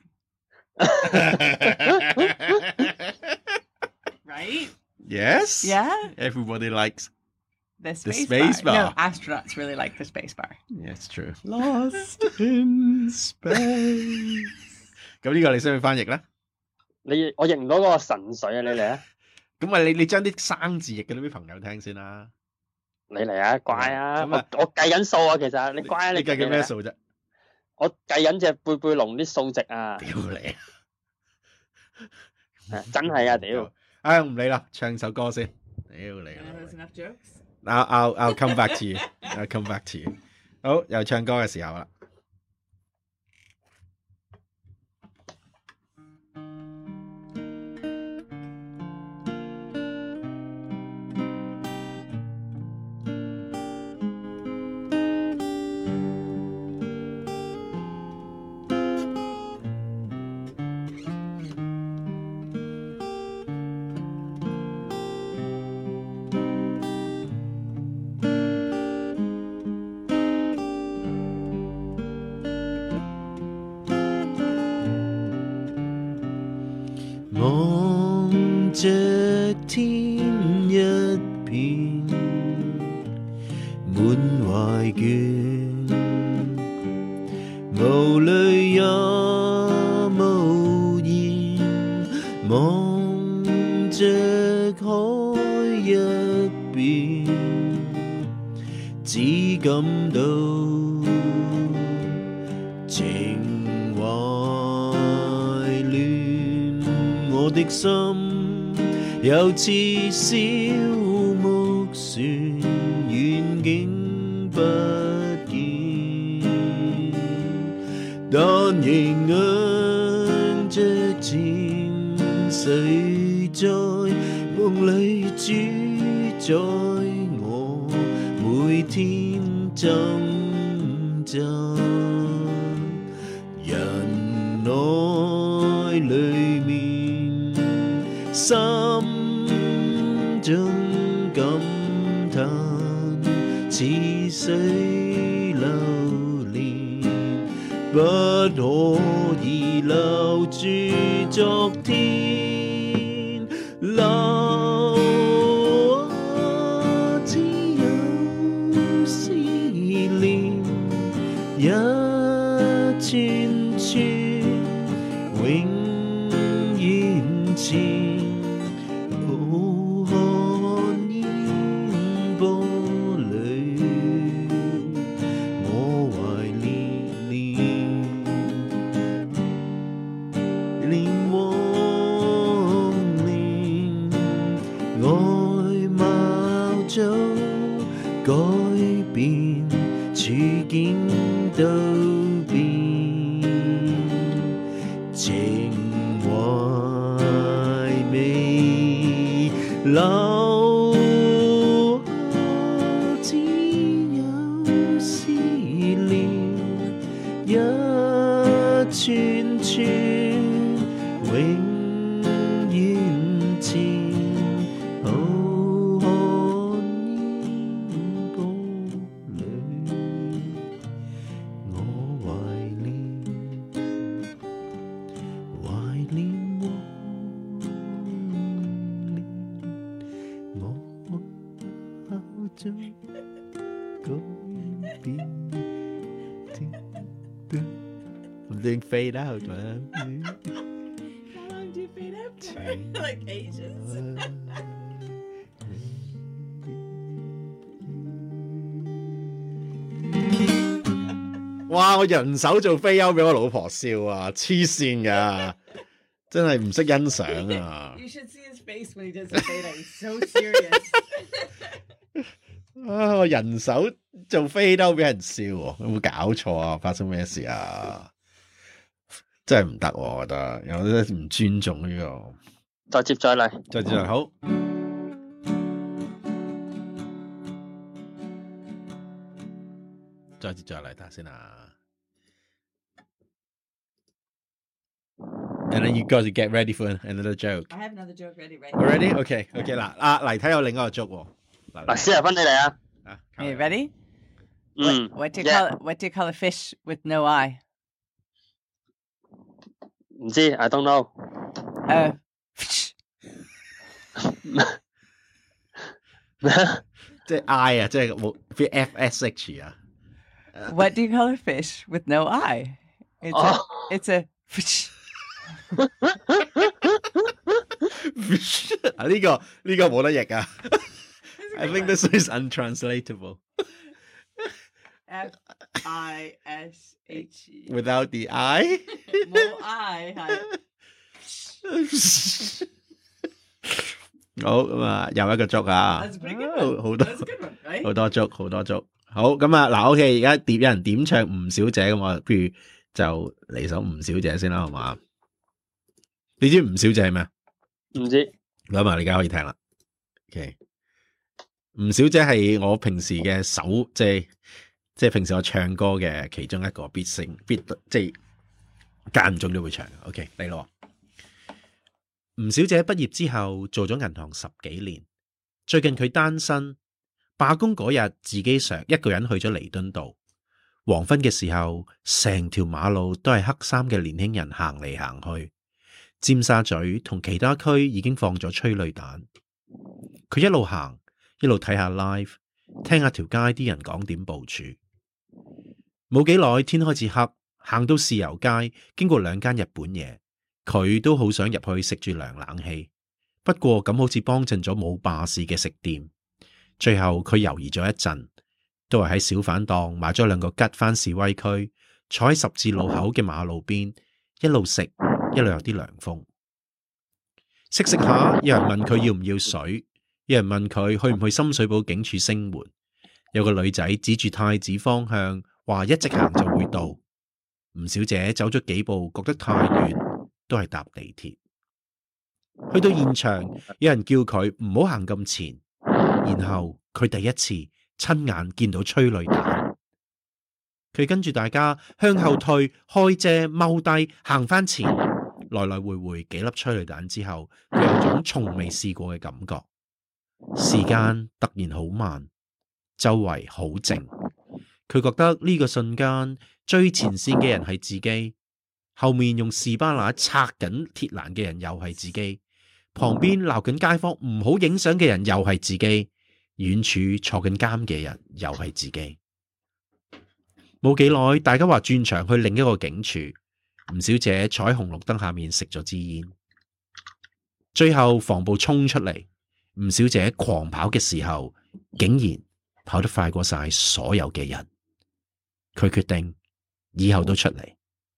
Right? Yes. Yeah? Everybody likes. The space, space bar. bar. No, astronauts really like the space bar. Yeah, it's true. Lost in space. 咁呢個你需要翻譯啦。 你我認唔到嗰個神水啊！你嚟啊！ 咁啊，你你將啲生字譯俾啲朋友聽先啦。 你嚟啊，乖啊！ 咁啊我我計緊數啊，其實你乖啊， 你計緊咩嚟啊數啫？ 我計緊隻貝貝龍啲數值啊！ 屌你！ 係真係啊！屌！ 唉，唔理啦，唱首歌先。屌你 Uh, there's enough jokes? I'll I'll I'll come back to you. I'll come back to you. 好，又唱歌嘅時候啦。望着天一片滿懷倦，無淚也無言，望着海一邊，只感到情懷亂，我的心又似小木船，遠景不見， 但仍硬着前誰在夢裡主宰我每天掙扎，人愛裡面心中感嘆，似水流年，不可以留住昨天，留只有思念，一串串永遠前，浩瀚煙波裏，我懷念念念往年，外貌早改變，處境都變，情懷未留，只有思念，一串串永遠前，浩瀚煙波裏，我懷念懷念往年，我口中改變。I'm doing fade out, man. How long do you fade out for? Like ages. 哇！我人手做飛優俾我老婆笑啊，黐線噶，真係唔識欣賞啊！ You should see his face when he does the fade out. He's so serious. 啊！我人手做飛優俾人笑，有冇搞錯啊？發生咩事啊？真係唔得，我覺得有啲唔尊重呢個。 再接再厲， 再接再厲，好。再接再厲，睇下先啊。And then you got to get ready for another joke. I have another joke ready, right? Ready? OK, OK 嗱，啊黎睇有另一個 joke 喎。 嗱，史提芬你嚟啊！ 啊 Are you ready? 嗯 What, what do you yeah. call what do you call a fish with no eye? 唔知 I don't know。 Uh, 即係 I 啊，即係冇 F S H 啊。 what do you call a fish with no eye? It's Oh. a it's a fish. 啊呢個呢個冇得譯啊。I think this is untranslatable. F I S H E. Without the I? 冇 I 係。 好咁啊，又一個 joke 啊， That's pretty good one. 好多 That's a good one, right? 好多 joke，好多 joke。好咁啊，嗱 ，OK， 而家點有人點唱吳小姐咁啊，不如就嚟首吳小姐先啦，好嘛？你知吳小姐係咩？ 唔知。 咁啊，你而家可以聽啦。OK， 吳小姐係我平時嘅首，即係即係平時我唱歌嘅其中一個必聲必，即係間唔中都會唱。OK， 嚟咯。吳小姐畢業之後做咗銀行十幾年，最近佢單身，罷工嗰日自己上一個人去咗彌敦道。黃昏嘅時候，成條馬路都係黑衫嘅年輕人行嚟行去。尖沙咀同其他區已經放咗催淚彈。佢一路行，一路睇下 live， 聽下條街啲人講點部署。冇幾耐，天開始黑，行到豉油街，經過兩間日本嘢。佢都好想入去食住涼冷氣，不過咁好似幫襯咗冇霸市嘅食店。最後佢猶豫咗一陣，都係喺小販檔買咗兩個吉返示威區，坐喺十字路口嘅馬路邊，一路食一路有啲涼風。食食下，有人問佢要唔要水，有人問佢去唔去深水埗警署聲援，有個女仔指住太子方向話一直行就會到。 吳小姐走咗幾步，覺得太遠，都係搭地鐵。去到現場，有人叫佢唔好行咁前，然後佢第一次親眼見到催淚彈。佢跟住大家向後退，開遮踎低，行翻前，來來回回幾粒催淚彈之後，佢有種從未試過嘅感覺。時間突然好慢，周圍好靜。佢覺得呢個瞬間最前線嘅人係自己，後面用士巴拿拆緊鐵欄嘅人又係自己，旁邊鬧緊街坊唔好影相嘅人又係自己，遠處坐緊監嘅人又係自己。冇幾耐，大家話轉場去另一個警署，吳小姐坐喺紅綠燈下面食咗支煙。最後防暴衝出嚟，吳小姐狂跑嘅時候，竟然跑得快過晒所有嘅人。佢決定以後都出嚟，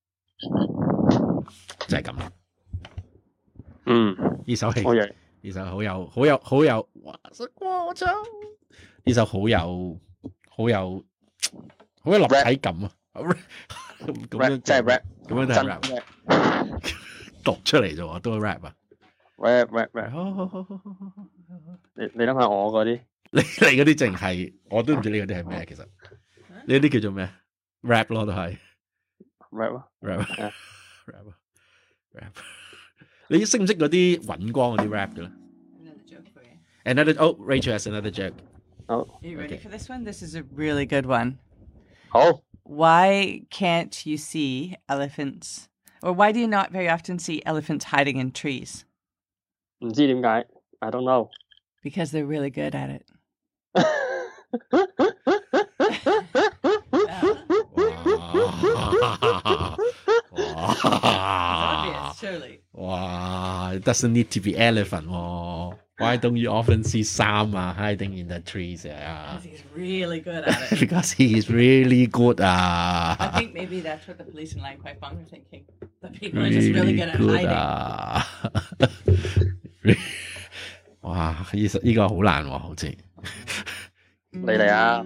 就係咁啦。 嗯， 呢首戲， 好嘢， 呢首好有好有好有，哇！我走呢首好有好有好有立體感啊！咁樣即係 rap， 咁樣都係 rap，讀出嚟啫喎，都係 rap 啊 ！rap rap rap， 好好好好好好， 你你諗下我嗰啲， 你你嗰啲淨係我都唔知你嗰啲係咩，其實你嗰啲叫做咩 rap 咯，都係 rap 啊 rap rap rap。你識唔識嗰啲尹光嗰啲 rap 嘅咧 Another joke for you. ？Another oh Rachel has another joke. 好 Are you ready Okay. for this one? This is a really good one. 好。 Why can't you see elephants? Or why do you not very often see elephants hiding in trees? 唔知點解 I don't know. Because they're really good at it. 哇 Obvious, surely. 哇 It doesn't need to be elephant 喎。Why don't you often see Sama hiding in the trees? Because he's really good at it. Because he is really good 啊。 I think maybe that's what the police in Lang Kwai Fong are thinking. The people are just really good at hiding. 啊。哇！呢呢個好難喎，好似。 你嚟啊！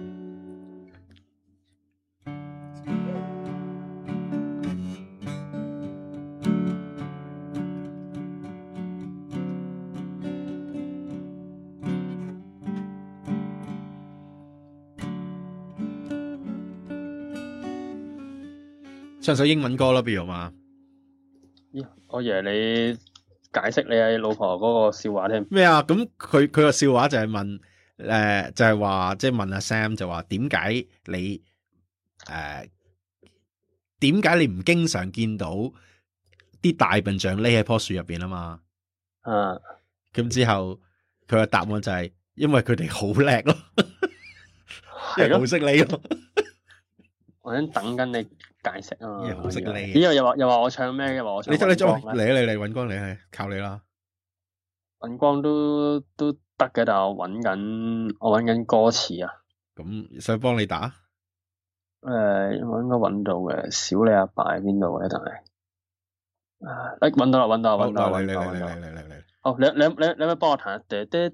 唱首英文歌啦，不如嘛？ 咦，我以為你解釋你係老婆嗰個笑話添。 咩啊？咁佢佢個笑話就係問，誒、呃，就係話即係問阿 Sam 就話點解你誒點解你唔經常見到啲大笨象匿喺棵樹入邊啊嘛？ 啊， 咁之後佢個答案就係因為佢哋好叻咯，因為好識匿咯。 我喺等緊你解釋啊嘛。 好識匿。 咦？又話又話我唱咩？又話我唱。你得你嚟嚟嚟，尹光你係靠你啦。 尹光都都得嘅，但係我揾緊我揾緊歌詞啊。 咁想幫你打？ 誒、呃，我應該揾到嘅。小你阿爸喺邊度咧？但係，啊，誒，揾到啦，揾到啦，揾到啦，揾到啦，揾到啦。嚟嚟嚟嚟嚟。好，你你你你可唔可以幫我彈？跟住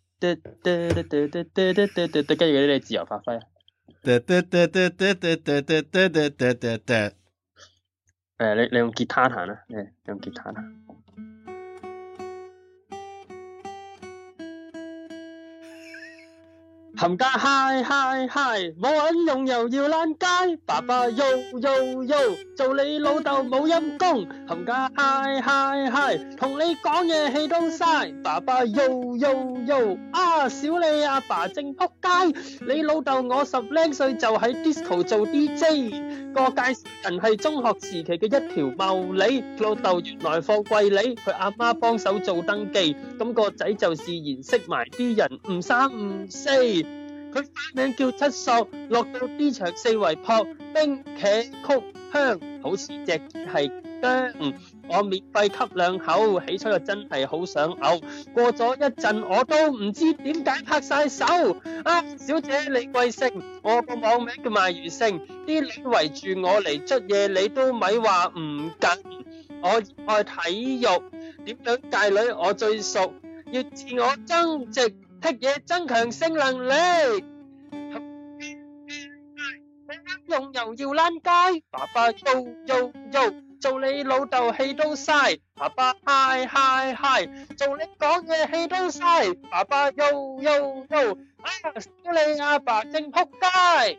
嗰啲你自由發揮啊。誒，你你用吉他彈啦，你用吉他彈。冚家嗨嗨嗨，冇銀用又要爛街，爸爸喐喐喐，做你老豆冇陰功。冚家嗨嗨嗨，同你講嘢氣都嘥，爸爸喐喐喐，啊小你阿爸正仆街，你老豆我十零歲就喺 disco 做 D J， 個介紹人係中學時期嘅一條茂利，老豆原來貨櫃里，佢阿媽幫手做登記，咁個仔就自然識埋啲人，唔三唔四。佢花名叫七索，落到啲場四圍撲冰茄曲香，好似隻係薑。我免費吸兩口，起初又真係好想嘔。過咗一陣，我都唔知點解拍晒手。啊，小姐你貴姓？我個網名叫賣魚勝，啲女圍住我嚟捽嘢，你都咪話唔緊。我熱愛體育，點樣界女我最熟，要自我增值。踢嘢增強性能力，用用又要躝街，爸爸又又又做你老豆氣都嘥，爸爸嗨嗨嗨，做你講嘢氣都嘥，爸爸又又又啊，屌你阿爸正仆街。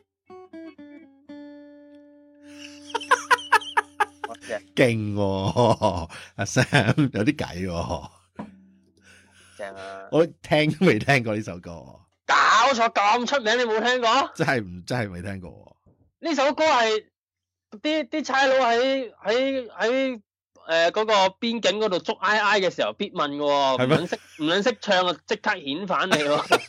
勁喎，阿 Sam 有啲計喎， 正啊！ 我聽都未聽過呢首歌， 搞錯咁出名你冇聽過？ 真係唔真係未聽過。 呢首歌係啲啲差佬喺喺喺誒嗰個邊境嗰度捉 I I 嘅時候必問嘅喎，唔撚識唔撚識唱啊，即刻顯反你喎。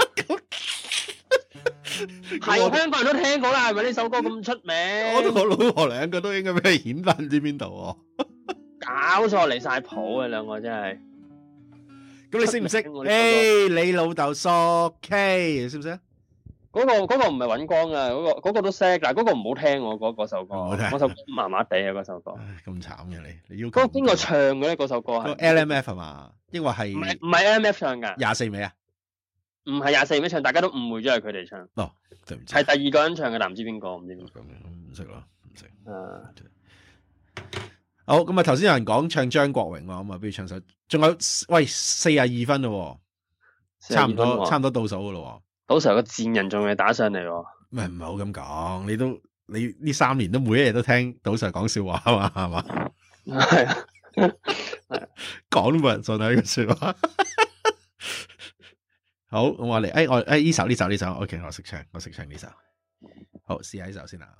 係香港人都聽過啦，係咪呢首歌咁出名？ 我同我老婆兩個都應該俾佢顯翻，唔知邊度喎。搞錯離晒譜啊，兩個真係。 咁你識唔識？誒，你老豆索 K， 識唔識啊？ 嗰個嗰個唔係尹光啊，嗰個嗰個都識，但係嗰個唔好聽喎，嗰嗰首歌。嗰首歌麻麻地啊，嗰首歌。咁慘嘅你，你要嗰個邊個唱嘅咧？嗰首歌係 L M F 係嘛？抑或係唔係唔係 L M F 唱㗎？ 廿四味啊？ 唔係廿四味唱，大家都誤會咗係佢哋唱。 哦，對唔住。係第二個人唱嘅，但唔知邊個，唔知邊個。 唔識咯，唔識。 啊。 好，咁啊頭先有人講唱張國榮喎，咁啊不如唱首。仲有喂四十二分咯，差唔多差唔多倒數噶咯。 到時候個賤人仲未打上嚟喎。 唔係唔係好咁講，你都你呢三年都每一日都聽賭 Sir 講笑話啊嘛，係嘛？係啊，講都冇人信啊呢句說話。好，咁我嚟，誒我誒呢首呢首呢首 ，OK， 我識唱，我識唱呢首。好，試下呢首先啦。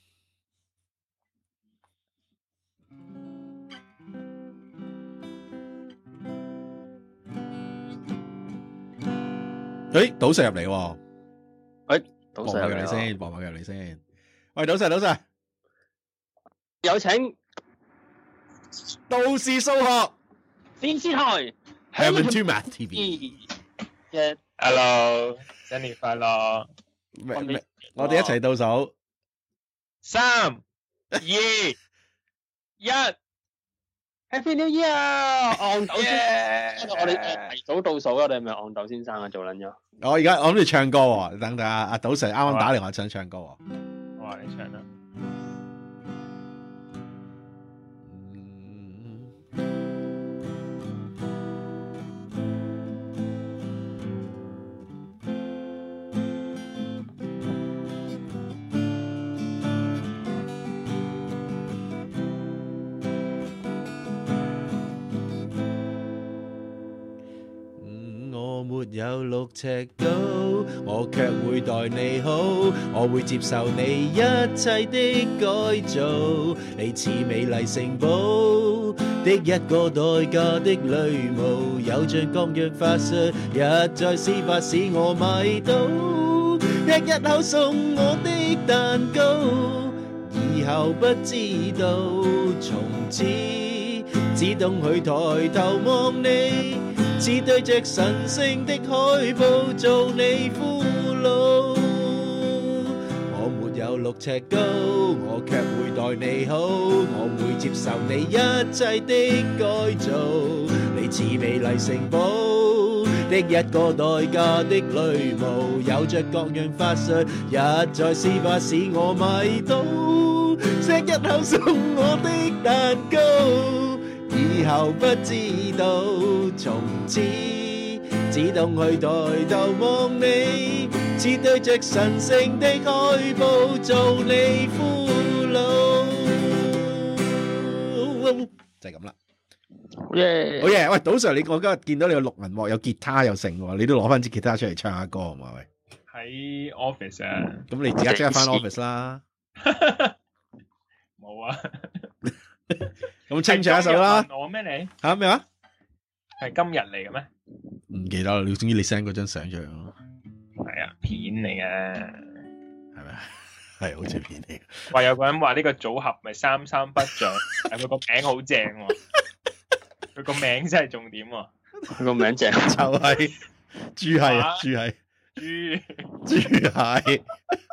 誒，賭 Sir 入嚟喎。 誒，賭 Sir 入嚟先，播埋入嚟先。喂，賭 Sir，賭 Sir， 有請都市數學電視台 Hamilton Math T V。 Hello，新年快樂！ 我哋一齊倒數， 三、二、一。 Happy New Year！戇豆先，我哋提早倒數，我哋係咪戇豆先生啊？做撚咗。 我而家我諗住唱歌喎，等等阿阿賭 Sir 啱啱打嚟話想唱歌喎。 我話你唱啦。 有六尺高，我卻會待你好，我會接受你一切的改造，你似美麗城堡的一個代價的禮物，有着各樣法術，一再施法使我迷倒，一一口送我的蛋糕，以後不知道，從此只懂去抬頭望你，似對着神聖的海報做你俘虜，我沒有六尺高，我卻會待你好，我會接受你一切的改造，你似美麗城堡的一個代價的女巫，有着各樣法術，一再施法使我迷倒，錫一口送我的蛋糕，以後不知道，從此只懂去抬頭望你，似對着神聖的海報做你俘虜，就係咁啦。好嘢，好嘢！喂，賭 Sir，你我今日見到你有錄銀幕，有吉他又成喎，你都攞翻支吉他出嚟唱下歌係嘛？喂， 喺 office 啊， 咁你而家即刻翻 office 啦。 冇啊。 咁清唱一首啦。 我咩你？ 吓咩話？ 係今日嚟嘅咩？ 唔記得啦，你總之你 send 嗰張相出嚟咯。 係啊，片嚟嘅， 係咪？係好似片嚟。 話有個人話呢個組合咪三三不像，但佢個名好正喎。佢個名真係重點喎。 佢個名正就係豬係啊，豬係豬豬係。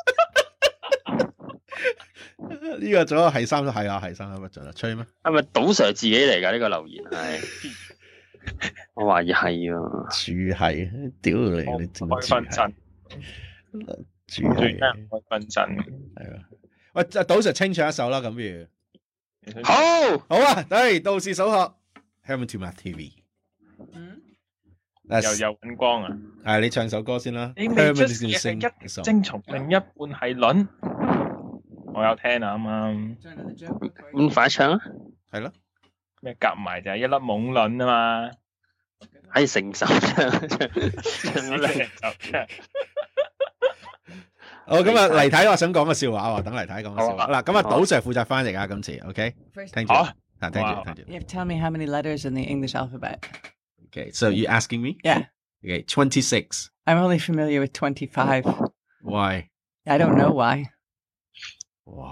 呢個組係三係啊，係三三不像啊，吹咩？ 係咪賭 Sir 自己嚟噶？呢個留言係。我懷疑係啊， 豬係，屌你你正豬係。 最得人開分身。 係啊，喂，就賭 Sir 清唱一首啦，咁不如好， 好啊，嚟到時數學 Herman Tuma T V。 嗯， 又又揾光啊！ 係你唱首歌先啦。 你未出嘅係一精蟲，另一半係卵。我有聽啊，啱啱。 咁快唱啊！ 係咯。 咩夾埋就係一粒懵卵啊嘛！ 喺成首唱唱唱咗兩首唱。 好，咁啊，黎太我想講個笑話喎，等黎太講個笑話。嗱，咁啊，賭 Sir 負責翻譯啊，今次 OK。聽住。啊，聽住，聽住。 You have to tell me how many letters in the English alphabet. Okay, so you asking me? Yeah. Okay, twenty-six. I'm only familiar with twenty-five. Why? I don't know why. 哇，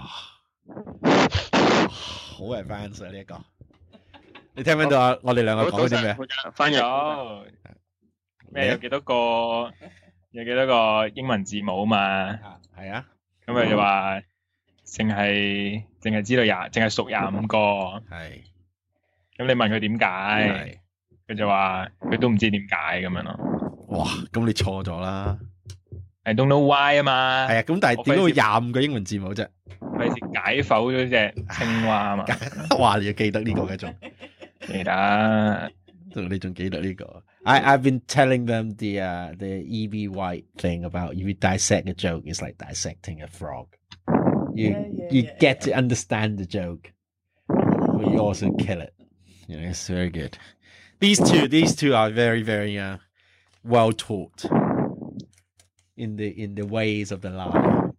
好 advanced 啊呢一個。你聽唔聽到啊？我哋兩個講啲咩？ 翻譯有咩？有幾多個？有幾多個英文字母嘛？ 係啊。 咁佢就話，淨係淨係知道廿，淨係數廿五個。 係。 咁你問佢點解？佢就話佢都唔知點解咁樣咯。 哇！咁你錯咗啦。 I don't know why 啊嘛。係啊，咁但係點解會廿五個英文字母啫？ 費事解剖咗隻青蛙啊嘛。 哇！你要記得呢個嘅仲。 記得， 你仲記得呢個 ？I I've been telling them the uh the E B White thing about if you dissect a joke, it's like dissecting a frog. You Yeah, yeah, you yeah, get yeah. to understand the joke, but you also kill it. You know, it's very good. These two, these two are very very uh well taught in the in the ways of the lie.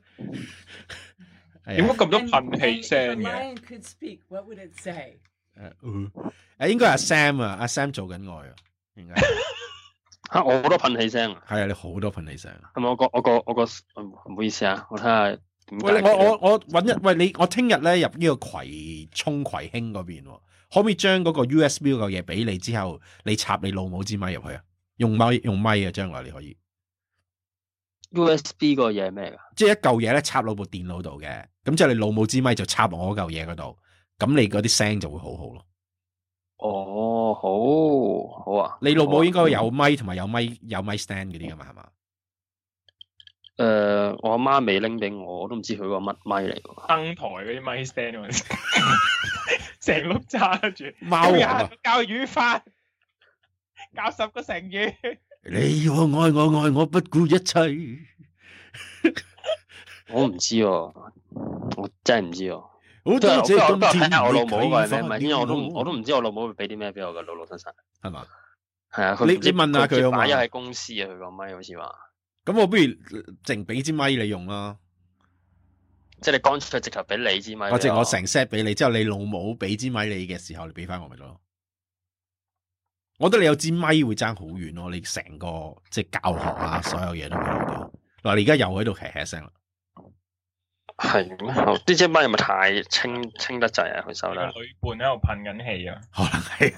點解咁多噴氣聲嘅 If a lion could speak, what would it say? 誒，誒，應該係阿 Sam 啊，阿 Sam 做緊愛啊，應該嚇我好多噴氣聲啊！ 係啊，你好多噴氣聲啊！ 係咪我個我個我個唔好意思啊？我睇下點解。 喂，我我我揾一喂你，我聽日咧入呢個葵涌葵興嗰邊，可唔可以將嗰個 U S B 嗰個嘢俾你之後，你插你老母支咪入去啊？用咪用咪啊，將來你可以。 U S B 個嘢係咩㗎？ 即係一嚿嘢咧插落部電腦度嘅，咁即係你老母支咪就插落我嗰嚿嘢嗰度。咁你嗰啲聲就會好好咯。 哦，好，好啊。 你老母應該有咪同埋有咪有咪 stand 嗰啲噶嘛，係嘛？ 誒、呃，我阿媽未拎俾我，我都唔知佢個乜咪嚟㗎。 登台嗰啲咪 stand 成碌揸住。 貓王啊！ 教語法，教十個成語。 你我愛我愛我不顧一切。我唔知喎，我真係唔知喎。 好多謝今天睇下我老母個係咩咪，因為我都我都唔知我老母會俾啲咩俾我嘅，老老實實係嘛？係啊， 你你問下佢啊嘛。 買咗喺公司啊，佢個咪好似話。 咁我不如淨俾支咪你用啦。 即係你乾脆直頭俾你支咪。 或者我成 set 俾你，之後你老母俾支咪你嘅時候，你俾翻我咪得咯。我覺得你有支咪會爭好遠咯，你成個即係教學啊，所有嘢都會好多。嗱，你而家又喺度咳咳聲啦。係咩？ 呢支咪係咪太清清得滯啊？佢收得。 女伴喺度噴緊氣啊！ 可能係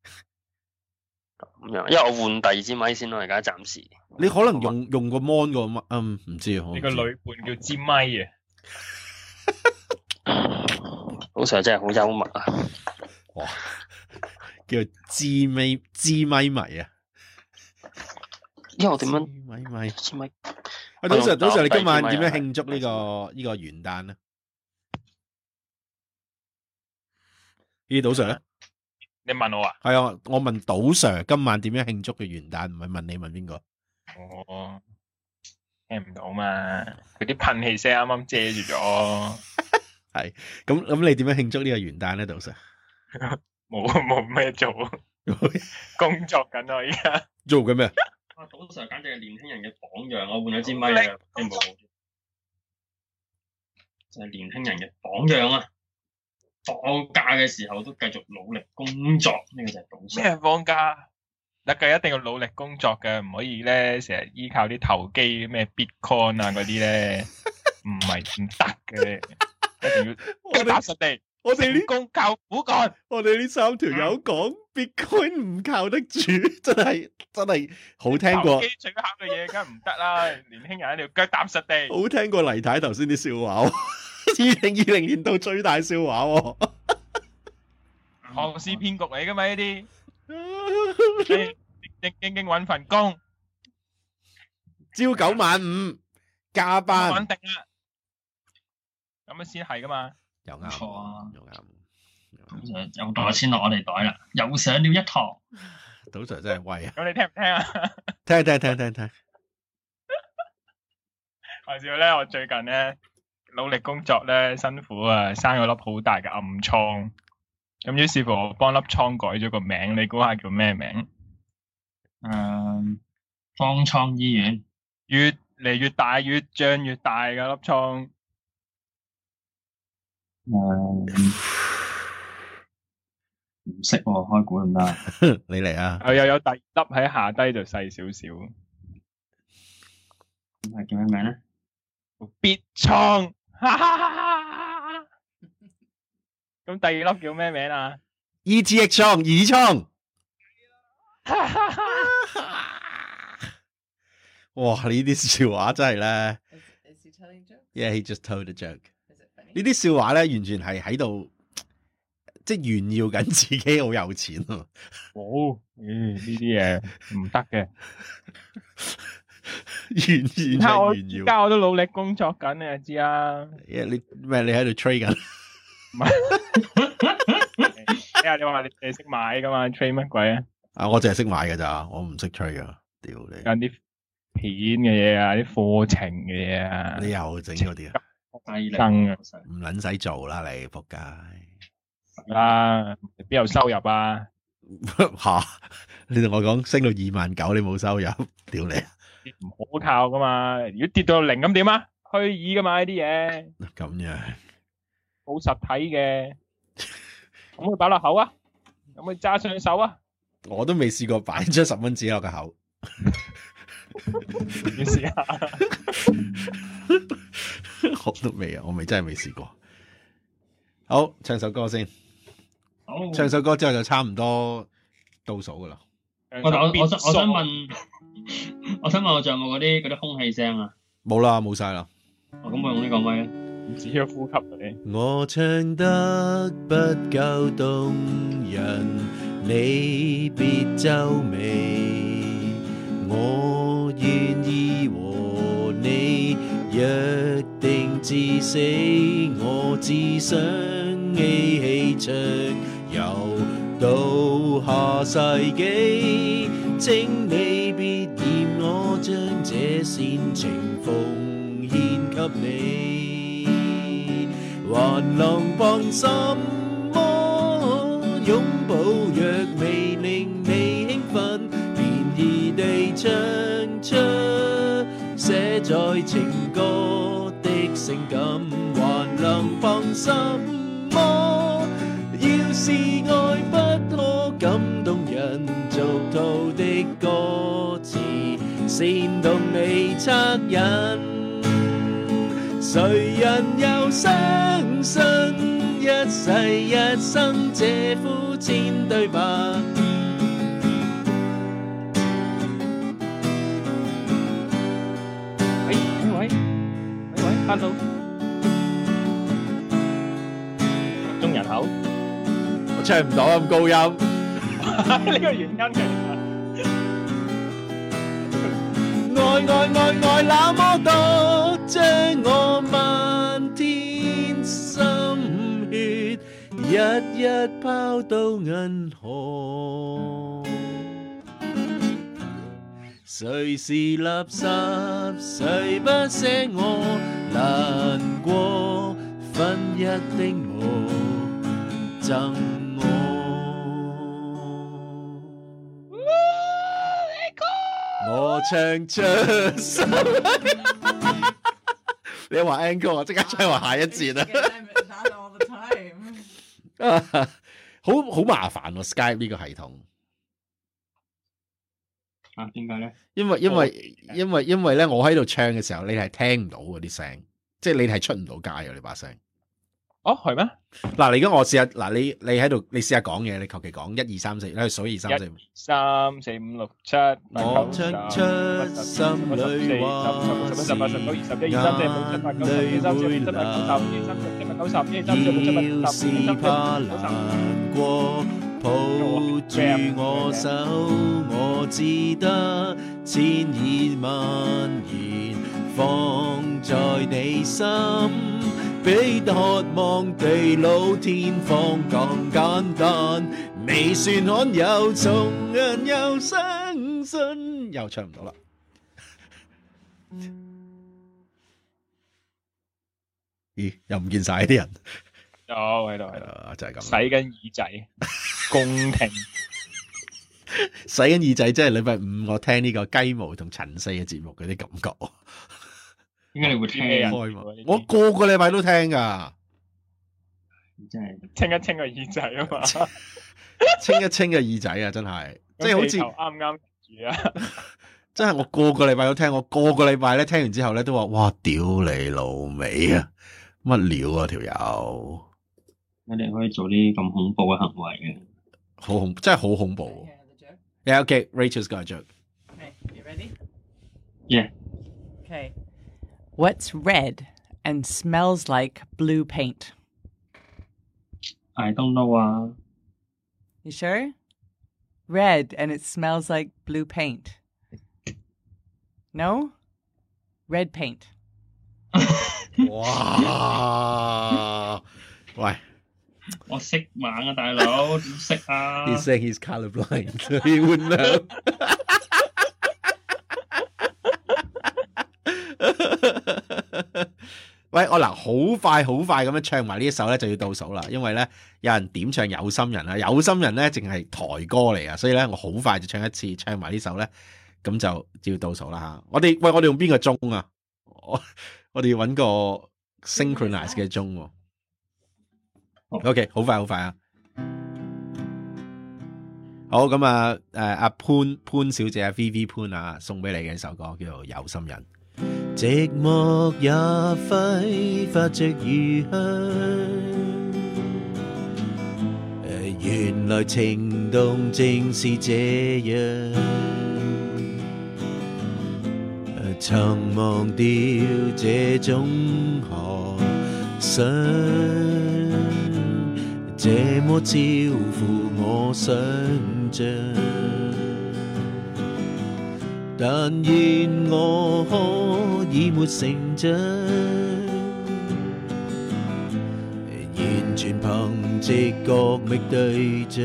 咁樣，因為我換第二支咪先咯，而家暫時。 你可能用用個 mon 個咪，嗯，唔知啊。 你個女伴叫支咪啊！ 老 Sir 真係好幽默啊！ 哇，叫支咪支咪迷啊！ 因為我點樣？ 咪咪支咪。 喂，早晨，早晨，你今晚點樣慶祝呢個呢個元旦咧？呢賭 Sir 咧？ 你問我啊？ 係啊，我問賭 Sir 今晚點樣慶祝嘅元旦，唔係問你問邊個？ 哦，聽唔到嘛？佢啲噴氣聲啱啱遮住咗。 係，咁咁你點樣慶祝呢個元旦咧，賭 Sir？ 冇冇咩做，工作緊啊！而家做緊咩？ 啊，賭 Sir 簡直係年輕人嘅榜樣，我換咗支咪啊！你冇，就係年輕人嘅榜樣啊！放假嘅時候都繼續努力工作，呢、這個就係賭 Sir。 咩放假？嗱，佢一定要努力工作嘅，唔可以咧成日依靠啲投機咩 Bitcoin 啊嗰啲咧，唔係唔得嘅，一定要腳踏實地。 我哋呢工靠苦幹， 我哋呢三條友講 Bitcoin 唔靠得住，真係真係好聽過。 投機取巧嘅嘢梗係唔得啦，年輕人一定要腳踏實地。 好聽過黎太頭先啲笑話，二零二零年度最大笑話。 龐氏騙局嚟噶嘛呢啲？正正經經揾份工， 朝九晚五， 加班穩定啦，咁樣先係噶嘛。 又啱， 錯啊， 又啱。 就又袋錢落我哋袋啦，又上了一堂。 賭 Sir 真係威啊！ 咁你聽唔聽啊？ 聽聽聽聽聽。 話說咧，我最近咧努力工作咧，辛苦啊，生咗粒好大嘅暗瘡。咁於是乎，我幫粒瘡改咗個名，你估下叫咩名？ 誒，方艙醫院。 越嚟越大，越脹越大嘅粒瘡。 誒，唔識喎，開估唔得。 你嚟啊！ 又又有第二粒喺下低就細少少。 咁係叫咩名咧？ 別瘡。咁第二粒叫咩名啊 ？E T H 瘡，耳瘡。哇！呢啲笑話真係咧。 Is, is he telling jokes? Yeah, he just told a joke. Is it funny? 呢啲笑話咧，完全係喺度，即係炫耀緊自己好有錢啊！ 哦，嗯，呢啲嘢唔得嘅。 炫炫睇我炫耀。 而家我都努力工作緊，你就知啊。 Yeah, 你咩？你喺度 trade 緊？ 唔係。哎呀，你話你你識買噶嘛 ？trade 乜鬼啊？ 啊，我淨係識買噶咋，我唔識 trade 噶。屌你！ 有啲片嘅嘢啊，啲課程嘅嘢啊。 你又整嗰啲啊？ 生啊！ 唔撚使做啦，你仆街！ 啦，邊有收入啊？ 吓！你同我講升到二萬九，你冇收入，屌你！ 唔可靠噶嘛？如果跌到零咁點啊？虛擬噶嘛呢啲嘢。 咁樣。 冇實體嘅，可唔可以擺落口啊？可唔可以揸上手啊？ 我都未試過擺張十蚊紙落個口。 你試下。 我都未啊，我未真係未試過。好，唱首歌先。 好， 唱首歌之後就差唔多倒數噶啦。 我我我想我想問，我想問我仲有冇嗰啲嗰啲空氣聲啊？ 冇啦，冇晒啦。 我咁我用呢個咪咧。 只要呼吸嗰啲。 我唱得不夠動人，你別皺眉。我願意和你約定至死，我只想一起唱，遊到下世紀。請你別嫌我將這煽情奉獻給你。還能憑什麼擁抱若未令你興奮，便宜地唱出寫在情歌的性感。還能憑什麼要是愛不可感動人，俗套的歌詞煽動你惻隱。誰人又相信一世一生這膚淺對白？ 喂喂喂喂喂 ，hello， 中人口， 我唱唔到咁高音， 呢個原因嘅。 愛愛愛愛那麼多，將我漫天心血一一拋到銀河。誰是垃圾？誰不捨我？難過分一的我贈我。我唱出心，你話 encore 我即刻唱話下一節啦。好好麻煩喎 Skype 呢個系統。 啊，點解咧？ 因為因為因為因為咧，我喺度唱嘅時候，你係聽唔到嗰啲聲，即係你係出唔到街嘅你把聲。 哦，係咩？ 嗱，你而家我試下，嗱，你你喺度，你試下講嘢，你求其講一二三四，你去數二三四。 三四五六七。 我唱出心裏話，是眼淚會流，要是怕難過，抱住我手，我只得千言萬言。 放在你心，比渴望地老天荒更簡單。你算罕有，從人又相信，又唱唔到啦。咦，又唔見晒啲人。 有喺度喺度， 就係咁。 洗緊耳仔，恭聽。 洗緊耳仔，即係禮拜五我聽呢個雞毛同陳四嘅節目嗰啲感覺。 點解你會聽啊？ 我個個禮拜都聽噶， 真係清一清個耳仔啊嘛， 清一清個耳仔啊，真係，即係好似啱啱住啊， 真係我個個禮拜都聽，我個個禮拜咧聽完之後咧都話，哇，屌你老味啊，乜料啊條友！ 我哋可以做啲咁恐怖嘅行為嘅， 好恐，真係好恐怖。Yeah, okay, Rachel's got a joke. Okay, you ready? Yeah. Okay. What's red and smells like blue paint? I don't know 啊。 You sure? Red and it smells like blue paint. No? Red paint. 哇！喂， 我識猛啊，大佬，點識啊 ？He's saying he's colorblind. He wouldn't know. 喂，我嗱好快好快咁樣唱埋呢一首咧，就要倒數啦。因為咧有人點唱有心人啊，有心人咧淨係台歌嚟啊，所以咧我好快就唱一次，唱埋呢首咧，咁就要倒數啦吓。我哋喂，我哋用邊個鐘啊？我我哋要揾個 synchronize 嘅鐘。OK， 好快好快啊！好咁啊，誒阿潘潘小姐啊 ，V V 潘啊，送俾你嘅一首歌叫做《有心人》。寂寞也揮發着餘香，原來情動正是這樣，曾忘掉這種渴想，這麼超乎我想象。但願我可以沒成長，完全憑直覺覓對象，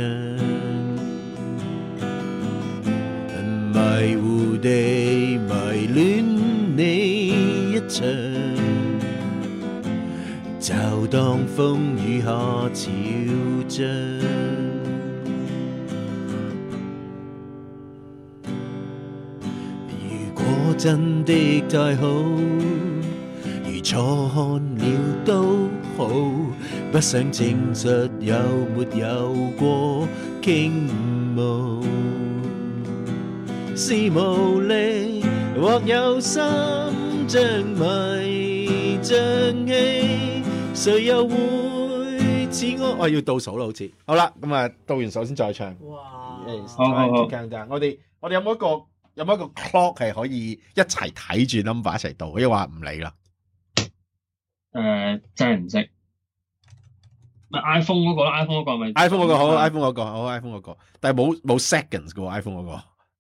迷糊地迷戀你一場，就當風雨下潮漲。真的太好，如錯看了都好，不想證實有沒有過傾慕，是無力或有心像迷像戲，誰又會似我？我要倒數啦，好似好啦，咁啊，倒完數先再唱。 哇！ 好好好，我哋我哋有冇一個？有冇一個 clock 係可以一齊睇住 number 一齊到？因為話唔理啦。 誒、呃，真係唔識。咪 iPhone 嗰個啦 ，iPhone 嗰個咪 iPhone 嗰個好 ，iPhone 嗰個好 ，iPhone 嗰個，但係冇冇 seconds 嘅喎 iPhone 嗰個。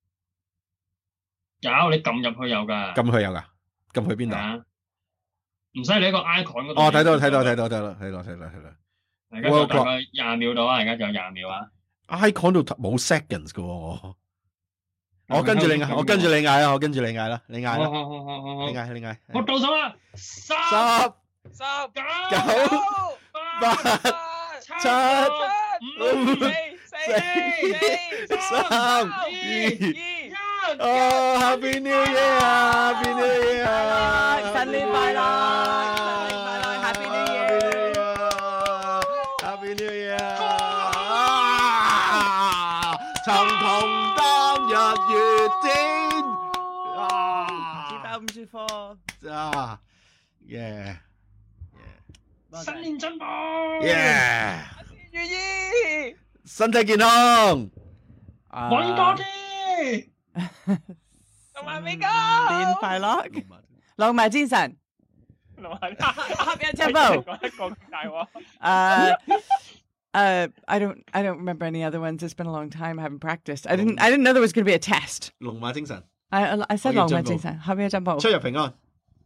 有，你撳入去有㗎。 撳去有㗎？撳去邊度？ 唔使你喺個 icon 嗰度。 哦，睇到睇到睇到睇到睇到睇到睇到。 而家就大概廿秒到啊！而家仲有廿秒啊。 icon 度冇 seconds 嘅喎。我跟住你嗌，我跟住你嗌啦，我跟住你嗌啦，你嗌啦， 好好好好好， 你嗌你嗌， 我倒數啦，十、 十、 十、 九、 八、 七、五、四、三、二、一，哦 ，Happy New Year，Happy New Year， 新年快樂，新年快樂 ，Happy New Year，Happy New Year，長同日月天啊！ 豬包唔舒服啊耶！ 新年進步！ 耶！ 如意， 身體健康， 揾多啲， 同埋美高， 年快樂，龍馬精神， 龍馬合一進步。 講一個大話。 Uh, uh, I don't, I don't remember any other ones. It's been a long time. I haven't practiced. I didn't, I didn't know there was going to be a test. 龍馬精神。 I, I said 龍馬精神，合一進步。 出入平安。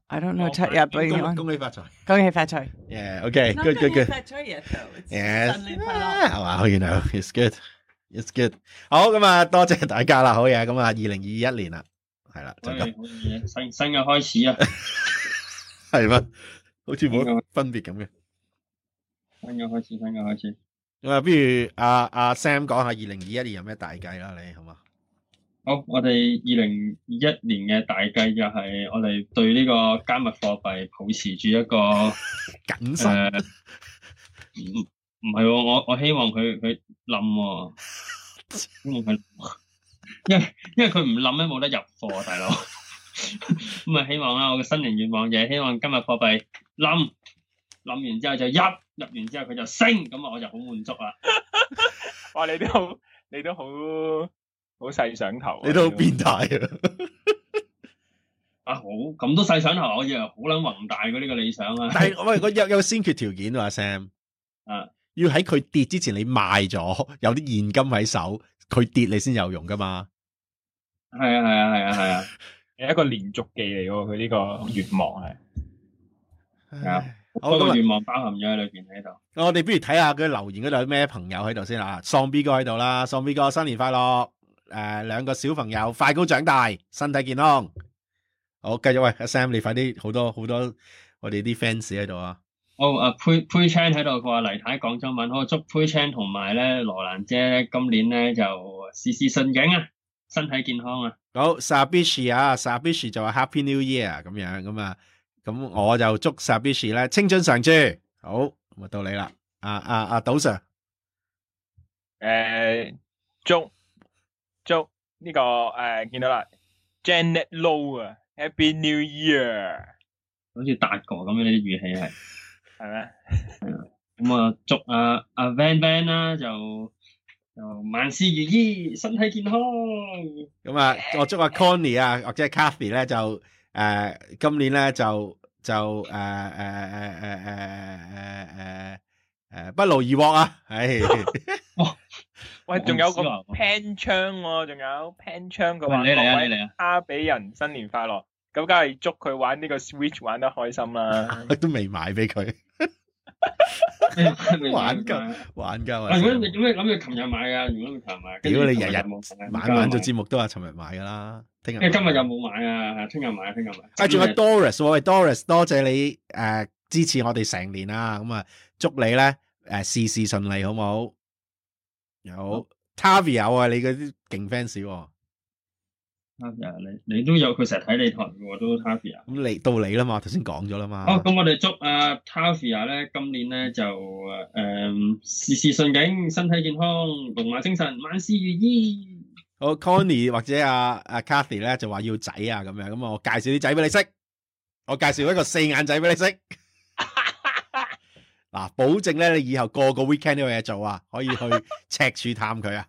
I don't know Chat yet, but you 恭恭喜發財， 恭喜發財。 Yeah, okay, Not good, good, good. 發財 yet though. It's Yes. 新年快樂。 Wow, you know, it's good, it's good. 好咁啊，多謝大家啦，好嘢。咁啊，二零二一年啦，係啦，就咁。 新新嘅開始啊， 係咩？好似冇乜分別咁嘅。 新嘅開始，新嘅開始。 咁啊，不如阿阿 Sam 講下二零二一年有咩大計啦，你好嘛？ 好，我哋二零二一年嘅大計就係我哋對呢個加密貨幣保持住一個謹慎。 誒，唔唔係喎，我我希望佢佢冧喎，希望佢，因為因為佢唔冧咧冇得入貨，大佬。咁啊，希望啦，我嘅新年願望就係希望加密貨幣冧，冧完之後就入，入完之後佢就升，咁啊我就好滿足啦。 哇！你都好，你都好。好細想頭、啊， 你都好變態啊！ 啊好，咁都細想頭，我以為好撚宏大嘅呢個理想啊！ 但係喂，我有有先決條件啊 ，Sam， 啊， 要喺佢跌之前你賣咗，有啲現金喺手，佢跌你先有用噶嘛？ 係啊係啊係啊係啊， 係一個連續技嚟喎，佢呢個願望係係啊，好多願望包含咗喺裏邊喺度。 我哋不如睇下佢留言嗰度有咩朋友喺度先啦。喪 B 哥喺度啦，喪 B 哥新年快樂！誒、呃，兩個小朋友快高長大，身體健康。好，繼續喂，阿 Sam，你快啲，好多好多我哋啲 fans 喺度啊。 好，阿佩佩 Chan 喺度，佢話黎太講中文，好祝佩 Chan 同埋咧羅蘭姐今年咧就事事順境啊，身體健康啊。 好 ，Sabishi 啊 ，Sabishi 就話 Happy New Year 咁樣咁啊，咁我就祝 Sabishi 咧青春常駐。好，咁啊到你啦，阿阿阿賭 Sir， 誒祝。祝呢、這個誒、呃、見到啦 ，Janet Low 啊 ，Happy New Year， 好似達哥咁樣呢啲語氣係， 係咩？ 係啊，咁啊祝阿阿 Van Van 啦，就就萬事如意，身體健康。 咁啊，我祝阿 Connie 啊，或者 Cathy 咧就誒、呃、今年咧就就誒誒誒誒誒誒誒誒不勞而獲啊！唉。 喂，仲有個 Pan 槍喎，仲有 Pan 槍佢話你嚟啊，你嚟啊！ 哈比人新年快樂，咁梗係祝佢玩呢個 Switch 玩得開心啦。 都未買俾佢，玩夠玩夠啊！ 如果你點解諗住琴日買噶？如果你琴日買， 屌你日日晚晚做節目都話尋日買噶啦，聽日。 因為今日又冇買啊，聽日買，聽日買。 啊，仲有 Doris， 喂 Doris， 多謝你誒支持我哋成年啦，咁啊祝你咧誒事事順利，好唔好？有 Tavia 啊，你嗰啲勁 fans 喎。 Tavia，你你都有佢成日睇你台嘅都 Tavia。 咁你到你啦嘛，頭先講咗啦嘛。 好，咁我哋祝阿 Tavia 咧，今年咧就誒事事順境，身體健康，龍馬精神，萬事如意。 好 Connie 或者阿阿 Cathy 咧就話要仔啊咁樣，咁啊我介紹啲仔俾你識，我介紹一個四眼仔俾你識。嗱，保證咧，你以後個個 weekend 都有嘢做啊，可以去赤柱探佢啊，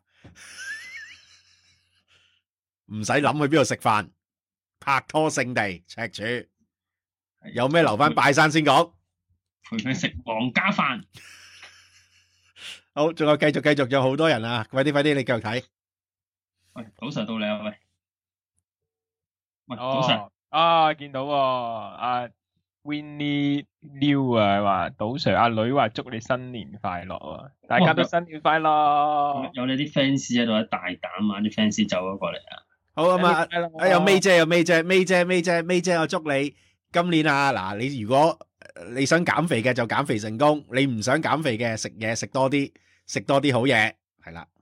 唔使諗去邊度食飯，拍拖聖地赤柱，有咩留翻拜山先講， 陪佢食皇家飯。 好，仲有繼續繼續，有好多人啊，快啲快啲，你繼續睇。 喂，早晨到你啊，喂，喂， 哦、 早晨啊，見到喎、哦，阿、啊。Winnie Liu 啊，話賭 Sir 阿女話祝你新年快樂啊！大家都新年快樂。 有你啲 fans 喺度，大膽啊！啲 fans 走咗過嚟啊！ 好啊嘛，啊有 May 姐，有 May 姐，May 姐，May 姐，May 姐，我祝你今年啊，嗱，你如果你想減肥嘅就減肥成功，你唔想減肥嘅食嘢食多啲，食多啲好嘢，係啦。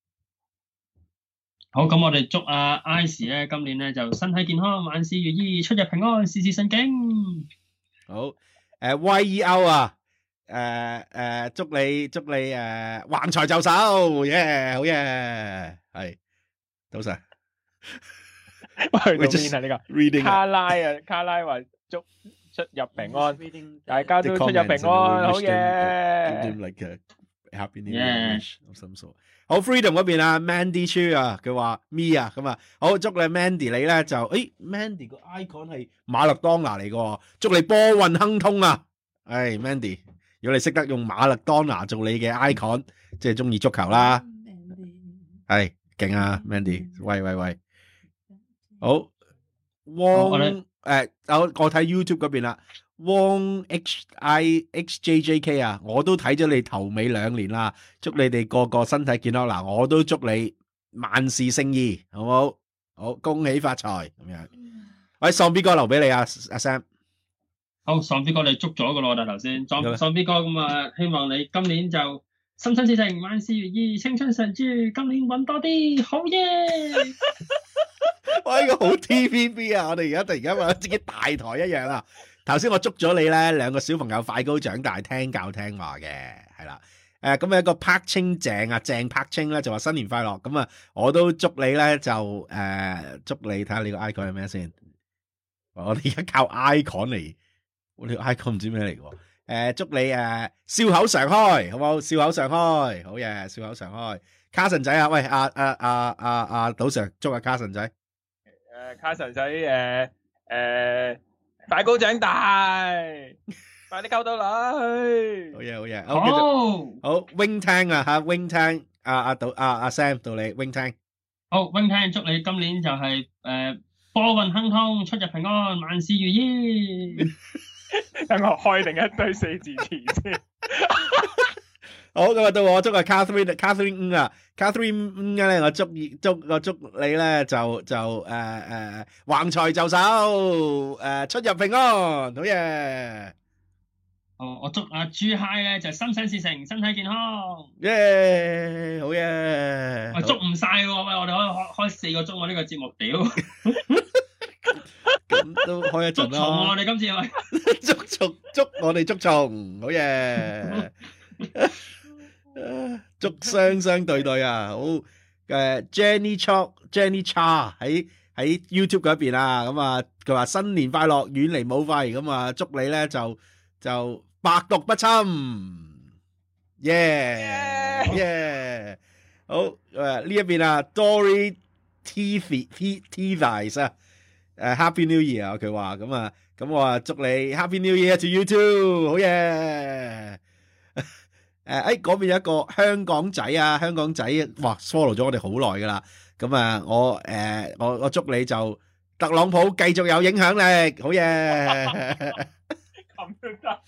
好，咁我哋祝阿 Ice 咧，今年咧就身體健康，萬事如意，出入平安，事事順境。 好，誒 Y E O 啊，誒誒，祝你祝你誒橫財就手，耶，好嘢，係，早晨。 去到邊啊？呢個卡拉啊，卡拉話祝出入平安，大家都出入平安，好嘢。 Happy New Year of some sort。好 Freedom 嗰邊啊 ，Mandy Chu 啊，佢話 Me 啊，咁啊，好祝你 Mandy 你咧就，誒 Mandy 個 icon 係馬勒當拿嚟嘅，祝你波運亨通啊！誒 Mandy，如果你識得用馬勒當拿做你嘅 icon，即係中意足球啦，係勁啊 Mandy，喂喂喂，好汪誒，我我睇 YouTube 嗰邊啦，汪 H I X J J K 啊，我都睇咗你頭尾兩年啦，祝你哋個個身體健康。嗱，我都祝你萬事勝意，好唔好？好，恭喜發財咁樣。喂，喪 B 哥留俾你啊，阿 Sam。 好，喪 B 哥你捉咗噶咯，但頭先喪喪 B 哥咁啊，希望你今年就心想事成，萬事如意，青春常駐，今年搵多啲，好嘢！ 哇，呢個好 T V B 啊！我哋而家突然間話自己大台一樣啊！頭先我捉咗你咧，兩個小朋友快高長大，聽教聽話嘅，係啦。誒，咁有一個柏清鄭啊，鄭柏清咧就話新年快樂。咁啊，我都祝你咧就誒，祝你睇下你個 icon 係咩先。我哋而家靠 icon 嚟，我哋個 icon 唔知咩嚟嘅。誒，祝你誒笑口常開，好唔好？笑口常開，好嘢，笑口常開。卡神仔啊，喂，阿阿阿阿阿賭 Sir，祝阿卡神仔。 誒，卡神仔誒誒，快高長大，快啲溝到女。 好嘢，好嘢，好，繼續，好 Wing Tang 啊吓 ，Wing Tang，阿阿賭阿阿 Sam 到你 Wing Tang。 好 Wing Tang，祝你今年就係誒波運亨通，出入平安，萬事如意。 等我開定一堆四字詞先。 好，咁啊到我祝啊 Catherine，Catherine 啊 ，Catherine 咧，我祝祝我祝你咧就就誒誒橫財就手，誒出入平安，好嘢。 哦，我祝阿朱嗨咧就心想事成，身體健康。 耶，好嘢。 喂，捉唔晒喎，喂，我哋可以開開四個鐘喎呢個節目，屌。 咁都開一陣啦。捉蟲喎，我哋今次係捉蟲，捉我哋捉蟲，好嘢。祝雙雙對對啊，好誒 Jenny Chok Jenny Cha 喺喺 YouTube 嗰邊啊，咁啊佢話新年快樂，遠離武肺，咁啊祝你咧就就百毒不侵，耶耶，好誒呢一邊啊 Dory T T T Vice 啊，誒 Happy New Year 啊佢話咁啊咁我啊祝你 Happy New Year to you too，好耶。誒，誒，嗰邊有一個香港仔啊，香港仔，哇，follow 咗我哋好耐噶啦，咁啊，我誒，我我祝你就特朗普繼續有影響力，好嘢， 咁都得，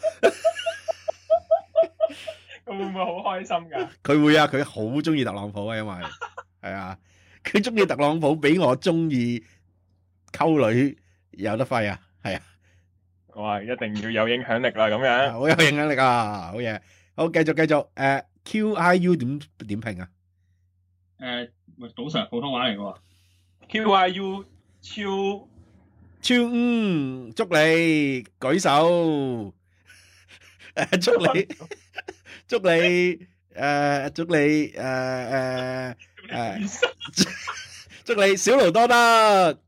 佢會唔會好開心噶？ 佢會啊，佢好中意特朗普啊，因為係啊，佢中意特朗普比我中意溝女有得揮啊，係啊， 哇，一定要有影響力啦，咁樣， 好有影響力啊，好嘢。好，繼續繼續，誒 Q I U 點點評啊？ 誒，喂，賭 Sir 普通話嚟嘅喎。 Q I U 超超嗯，祝你舉手，誒祝你祝你誒祝你誒誒誒祝你小勞多得。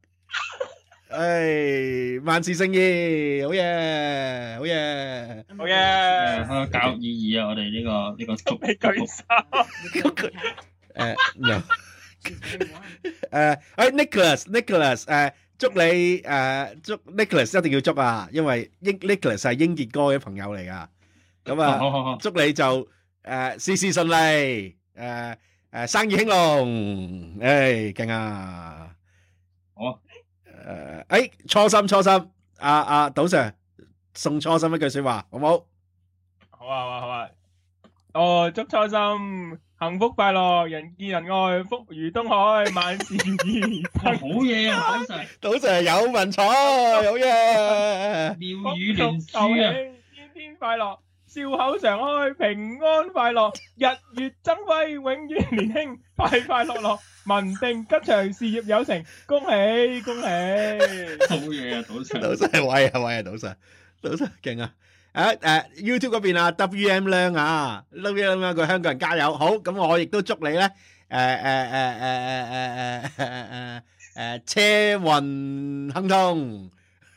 誒，萬事勝意，好嘢，好嘢， 好嘢， 誒，教育意義啊！我哋呢個呢個祝你舉手， 誒，no，誒，誒，Nicholas，Nicholas，誒，祝你誒，祝 Nicholas 一定要祝啊，因為英 Nicholas 係英傑哥嘅朋友嚟噶，咁啊， 好好好， 祝你就誒事事順利，誒誒生意興隆，誒勁啊， 好。 誒，誒，初心初心，阿阿賭 Sir 送初心一句說話，好唔好？ 好啊好啊好啊！哦，祝初心幸福快樂，人見人愛，福如東海，萬事如意。 好嘢啊，賭 Sir！ 賭 Sir 有文采，好嘢！ 妙語連珠啊！ 天天快樂，笑口常開，平安快樂，日月增輝，永遠年輕，快快樂樂。文定吉祥，事業有成，恭喜恭喜！ 好嘢啊，賭 Sir！ 賭 Sir 威啊威啊，賭 Sir，賭 Sir 勁啊！誒誒 YouTube 嗰邊啊 ，W M 亮啊 ，W M 亮個香港人加油！好，咁我亦都祝你咧，誒誒誒誒誒誒誒誒誒車運亨通，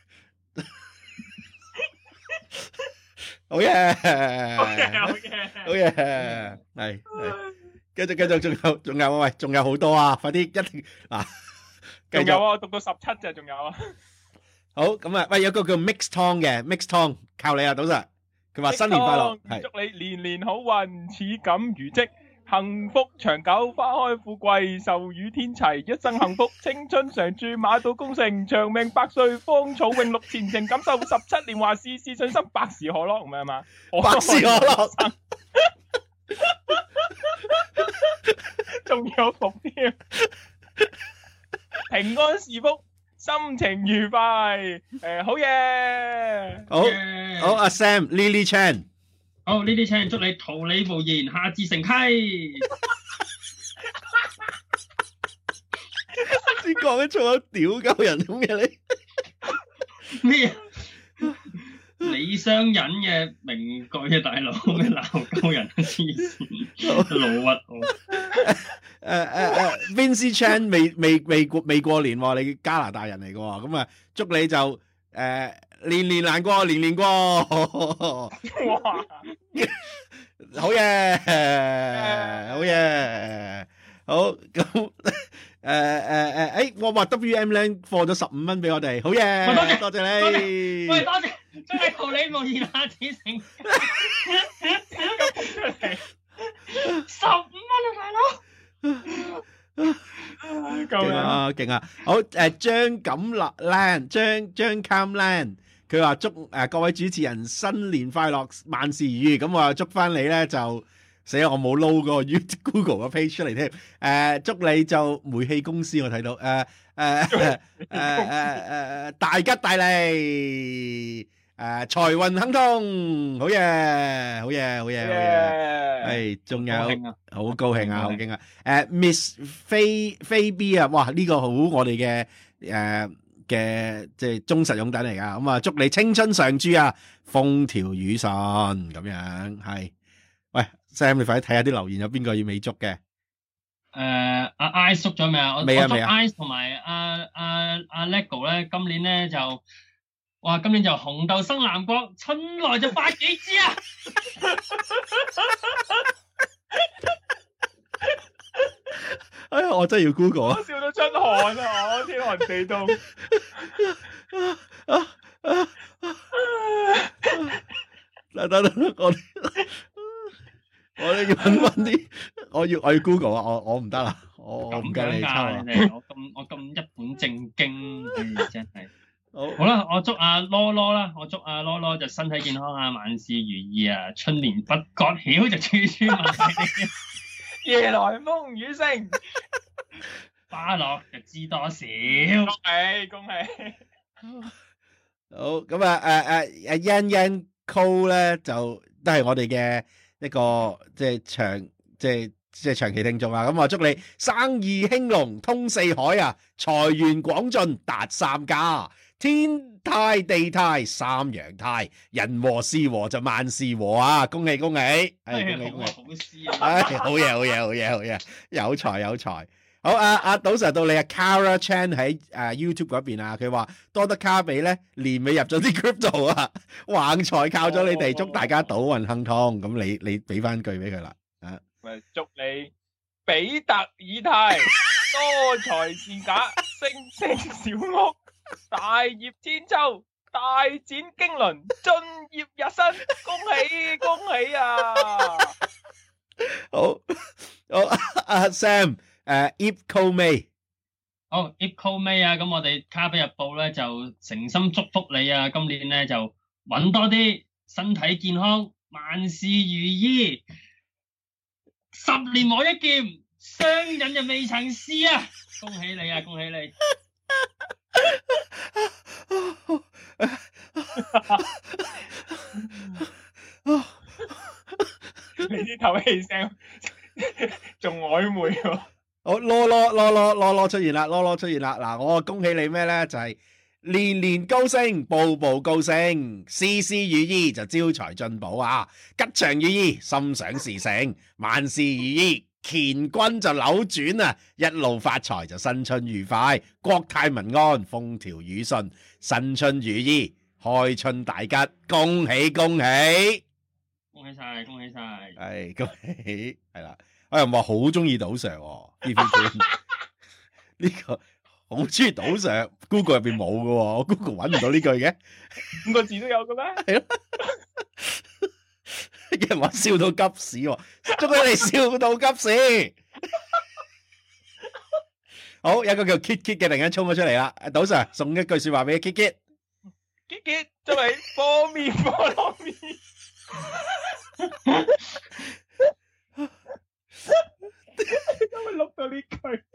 好嘢！ 好嘢好嘢好嘢，係係。繼續繼續，仲有仲有喂，仲有好多啊！快啲一定嗱， 仲有啊！我讀到十七隻，仲有啊！ 好咁啊！喂，有個叫 Mix Tong 嘅 Mix Tong，靠你啊，賭 Sir！佢話新年快樂，係祝你年年好運，似錦如織， 幸福長久，花開富貴，壽與天齊，一生幸福，青春常駐，馬到功成，長命百歲，芳草永綠，前程錦繡，十七年華，事事順心，百事可樂，唔係嘛？ 百事可樂， 仲有福添，平安是福，心情愉快，誒，好嘢， 好，好，阿 Sam，Lily Chan。 好，呢啲請祝你桃李無言，下至成溪。 先講緊仲有屌鳩人咁嘅你咩？李商隱嘅名句啊，大佬咩鬧鳩人黐線，老屈我。 誒誒誒 Vincent Chan 未未未過未過年喎，你加拿大人嚟嘅喎，咁啊祝你就誒。呃年年難過，年年過。哇！好嘢，好嘢，好咁誒誒誒，誒我話 W M 咧放咗十五蚊俾我哋，好嘢，多謝多謝你。 喂，多謝，祝你桃李無言，下至成溪。十五蚊啊，大佬！ 勁啊勁啊！好誒，張錦立 Lan 張張 Cam Lan。佢話祝誒、呃、各位主持人新年快樂，萬事如意。咁我又祝翻你咧就死啦！我冇撈嗰個 YouTube Google 個 page 出嚟添。誒、呃，祝你就煤氣公司我睇到誒誒誒誒誒誒大吉大利，誒、呃、財運亨通，好嘢好嘢好嘢好嘢！係仲有好高興啊，好勁啊！誒 Miss 菲菲 B 啊，哇呢、這個好我哋嘅誒。嘅即係忠實擁躉嚟噶，咁啊祝你青春常駐啊，風調雨順咁樣係。喂 Sam，你快啲睇下啲留言，有邊個要美足嘅？ 誒，阿 I 縮咗未啊？ 未啊未啊。 I 同埋阿阿阿 Lego 咧，今年咧就哇，今年就紅豆生南國，春來就發幾枝啊！ 哎呀，我真係要 Google 啊！ 我笑到出汗啊！我天寒地凍。 等等等，我我哋要揾翻啲，我要我要 Google 啊！我我唔得啦，我我唔夠你抽啊！ 我咁我咁一本正經，真係好好啦！我祝阿羅羅啦，我祝阿羅羅就身體健康啊，萬事如意啊，春年不覺曉就處處聞。 夜來風雨聲， 花落就知多少。恭喜恭喜！ 好咁啊！誒誒誒 Yan Yan Co 咧就都係我哋嘅一個即係長即係即係長期聽眾啊！咁啊祝你生意興隆通四海啊，財源廣進達三家，天泰地泰三陽泰，人和事和就萬事和啊！恭喜恭喜！係恭喜恭喜！ 好詩啊！ 唉，好嘢好嘢好嘢好嘢，有才有才。好啊啊，賭 Sir 到你啊 Cara Chan 喺誒 YouTube 嗰邊啊，佢話多得卡比咧年尾入咗啲 crypto 啊，橫財靠咗你哋，祝大家賭運亨通。咁你你俾翻句俾佢啦啊！ 咪祝你比特爾泰多財是假，升升小屋，大業千秋，大展經綸，進業日新，恭喜恭喜啊！ 好好阿 Sam。誒 ，Ipco May， 好 Ipco May 啊！咁我哋卡比日報咧就誠心祝福你啊！今年咧就搵多啲，身體健康，萬事如意，十年磨一劍，雙刃就未曾試啊！恭喜你啊！恭喜你！ 你啲透氣聲仲曖昧喎。 好，羅羅羅羅羅羅出現啦，羅羅出現啦。嗱，我恭喜你咩咧？就係、是、年年高升，步步高升，事事如意就招財進寶啊！吉祥如意，心想事成，萬事如意，乾坤就扭轉啊！一路發財就新春愉快，國泰民安，風調雨順，新春如意，開春大吉，恭喜恭喜！ 恭喜晒，恭喜晒， 係恭喜，係啦。我又話好中意賭 Sir 呢篇呢個好中意賭 Sir，Google 入邊冇嘅，我 Google 搵唔到呢句嘅， 五個字都有嘅咩？ 係咯， 有人話笑到急屎喎，祝佢哋笑到急屎。好，有個叫 Kit Kit 嘅突然間衝咗出嚟啦，賭 Sir 送一句說話俾 Kit Kit。Kit Kit 就係菠麵菠蘿麵。因為錄到呢句。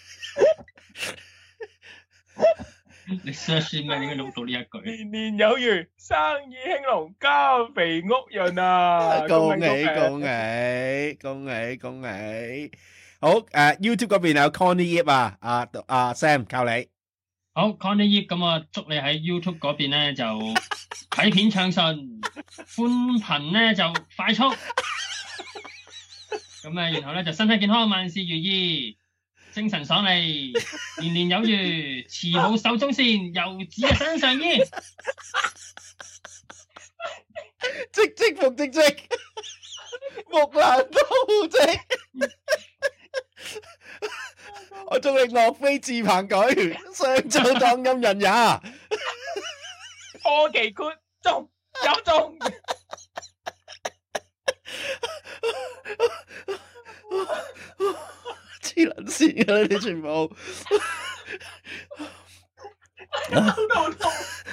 你 search 咩？點解錄到呢一句？ 年年有餘，生意興隆，家肥屋潤啊！ 恭喜恭喜恭喜恭喜！好誒、uh, ，YouTube 嗰邊有 Connie Yip 啊，阿、uh, 阿、uh, Sam 靠你。 好 Connie Yip， 咁啊，祝你喺 YouTube 嗰邊咧就睇片暢順，寬頻咧就快速，咁啊，然後咧就身體健康，萬事如意。精神爽利，年年有餘，慈母手中線，遊子嘅身上衣， 積積復積積，木蘭當戶織。我祝你樂飛自鵬舉，上奏當音人也。 科技豁中有中。 黐撚線㗎，你哋全部。 好痛！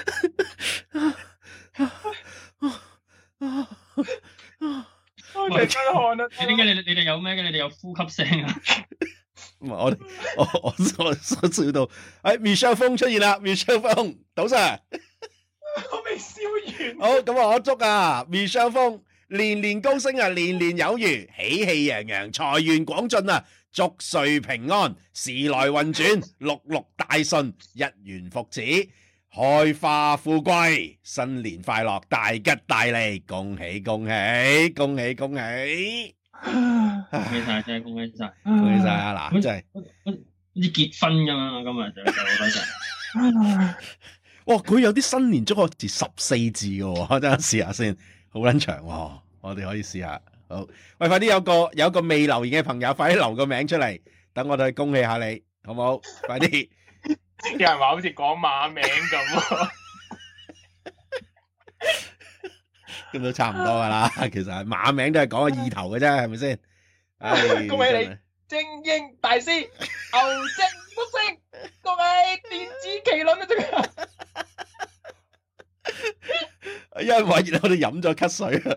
我成身汗啊！ 你點解你你哋有咩嘅？你哋有呼吸聲啊？ 唔係我我我我笑到，哎 Michelle 風出現啦 ，Michelle 風，賭 Sir。 我未笑完。 好，咁啊，我祝啊 Michelle 風年年高升啊，年年有餘，喜氣洋洋，財源廣進啊！祝歲平安，時來運轉，六六大順，一元復始，開花富貴，新年快樂，大吉大利，恭喜恭喜恭喜恭喜！ 恭喜晒，真係恭喜晒， 恭喜晒啊！嗱，真係好似結婚咁樣，今日就就好多謝。 哇，佢有啲新年祝賀字十四字嘅喎，等下試下先，好撚長喎，我哋可以試下。好，喂，快啲有個有個未留言嘅朋友，快啲留個名出嚟，等我哋去恭喜下你，好唔好？快啲！ 有人話好似講馬名咁， 咁都差唔多噶啦。其實馬名都係講個意頭嘅啫，係咪先？唉， 恭喜你，精英大師，牛精福星，恭喜電子麒麟啊！真係， 因為我哋飲咗咳水啊！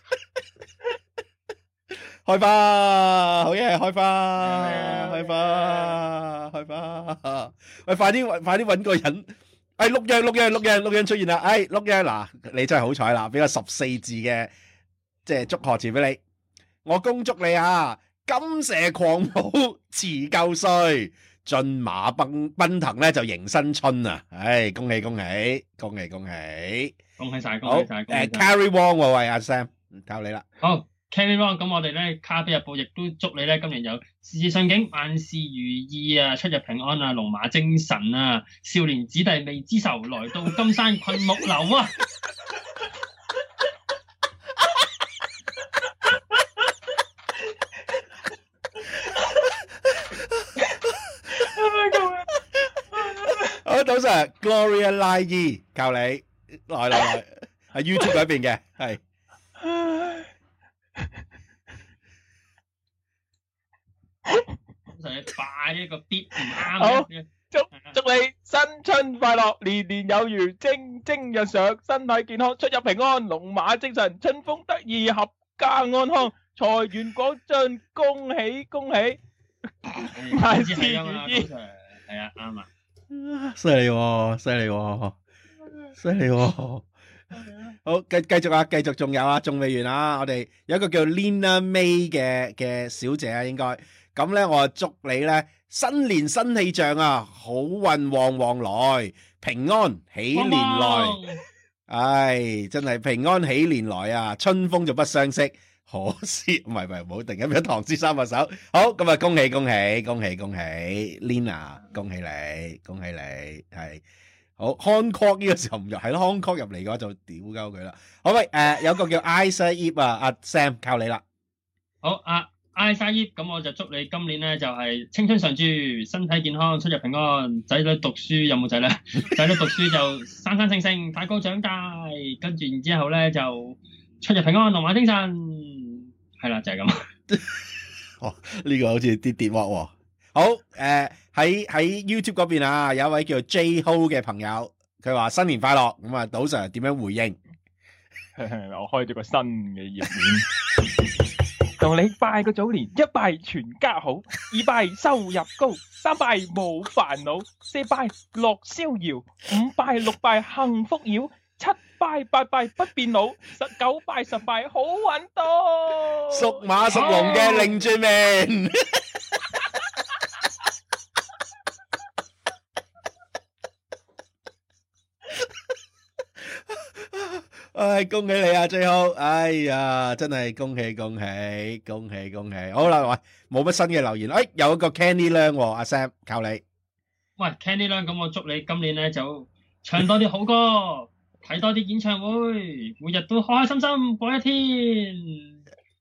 開花，好嘢！開花，開花，開花！喂，快啲，快啲搵個人！哎，陸陽，陸陽，陸陽，陸陽出現啦！哎，陸陽，嗱，你真係好彩啦，俾個十四字嘅即係祝賀詞俾你。我恭祝你啊，金蛇狂舞辭舊歲，駿馬奔奔騰咧就迎新春啊！唉，恭喜恭喜，恭喜恭喜， 恭喜晒，恭好喜晒！ 誒 ，Carry Wong 喎，喂，阿 Sam，靠你啦！ 好。Carry on，咁我哋咧《卡比日報》亦都祝你咧今年有事事順境，萬事如意啊，出入平安啊，龍馬精神啊，少年子弟未知愁，來到金山困木樓啊！ 好，賭 Sir Gloria 拉伊靠你，來來來，喺 YouTube 嗰邊嘅係。 快一個 beat 唔啱。 好，祝祝你新春快樂，年年有餘，蒸蒸日上，身體健康，出入平安，龍馬精神，春風得意，合家安康，財源廣進，恭喜恭喜，萬事如意。 係啊，啱啊， 犀利喎，犀利喎，犀利喎。好，繼繼續啊，繼續仲有啊，仲未完啊，我哋有一個叫 Lina May 嘅嘅小姐啊，應該。咁咧，我祝你咧新年新氣象啊，好運旺旺來，平安喜年來。唉，真係平安喜年來啊！春風就不相識，可惜唔係唔係，唔好突然間俾唐詩三百首。好，咁啊，恭喜恭喜恭喜恭喜 ，Lina，恭喜你，恭喜你，係好 Hong Kong 呢個時候唔入，係咯 Hong Kong 入嚟嘅話就屌鳩佢啦。好喂，誒，有個叫 Isa Eve 啊，阿 Sam 靠你啦。 好啊。嗌晒葉，咁我就祝你今年咧就係青春常駐，身體健康，出入平安。仔女讀書有冇仔咧？仔女讀書就生生性性，快高長大。跟住然之後咧就出入平安，龍馬精神。係啦，就係、是、咁。 哦，呢、這個好似啲電話喎。好，誒喺喺 YouTube 嗰邊啊，有一位叫 J Ho 嘅朋友，佢話新年快樂。咁啊，賭 Sir 點樣回應？ 我開咗個新嘅頁面，同你拜個早年，一拜全家好，二拜收入高，三拜冇煩惱，四拜樂逍遙，五拜六拜幸福繞，七拜八拜不變老，十九拜十拜好運到。 屬馬屬龍嘅擰轉面。唉，恭喜你啊，最好！哎呀，真係恭喜恭喜恭喜恭喜！好啦，喂，冇乜新嘅留言，哎，有一個 Candy Lang，阿 Sam 靠你。 喂 ，Candy Lang，咁我祝你今年咧就唱多啲好歌，睇多啲演唱會，每日都開開心心過一天。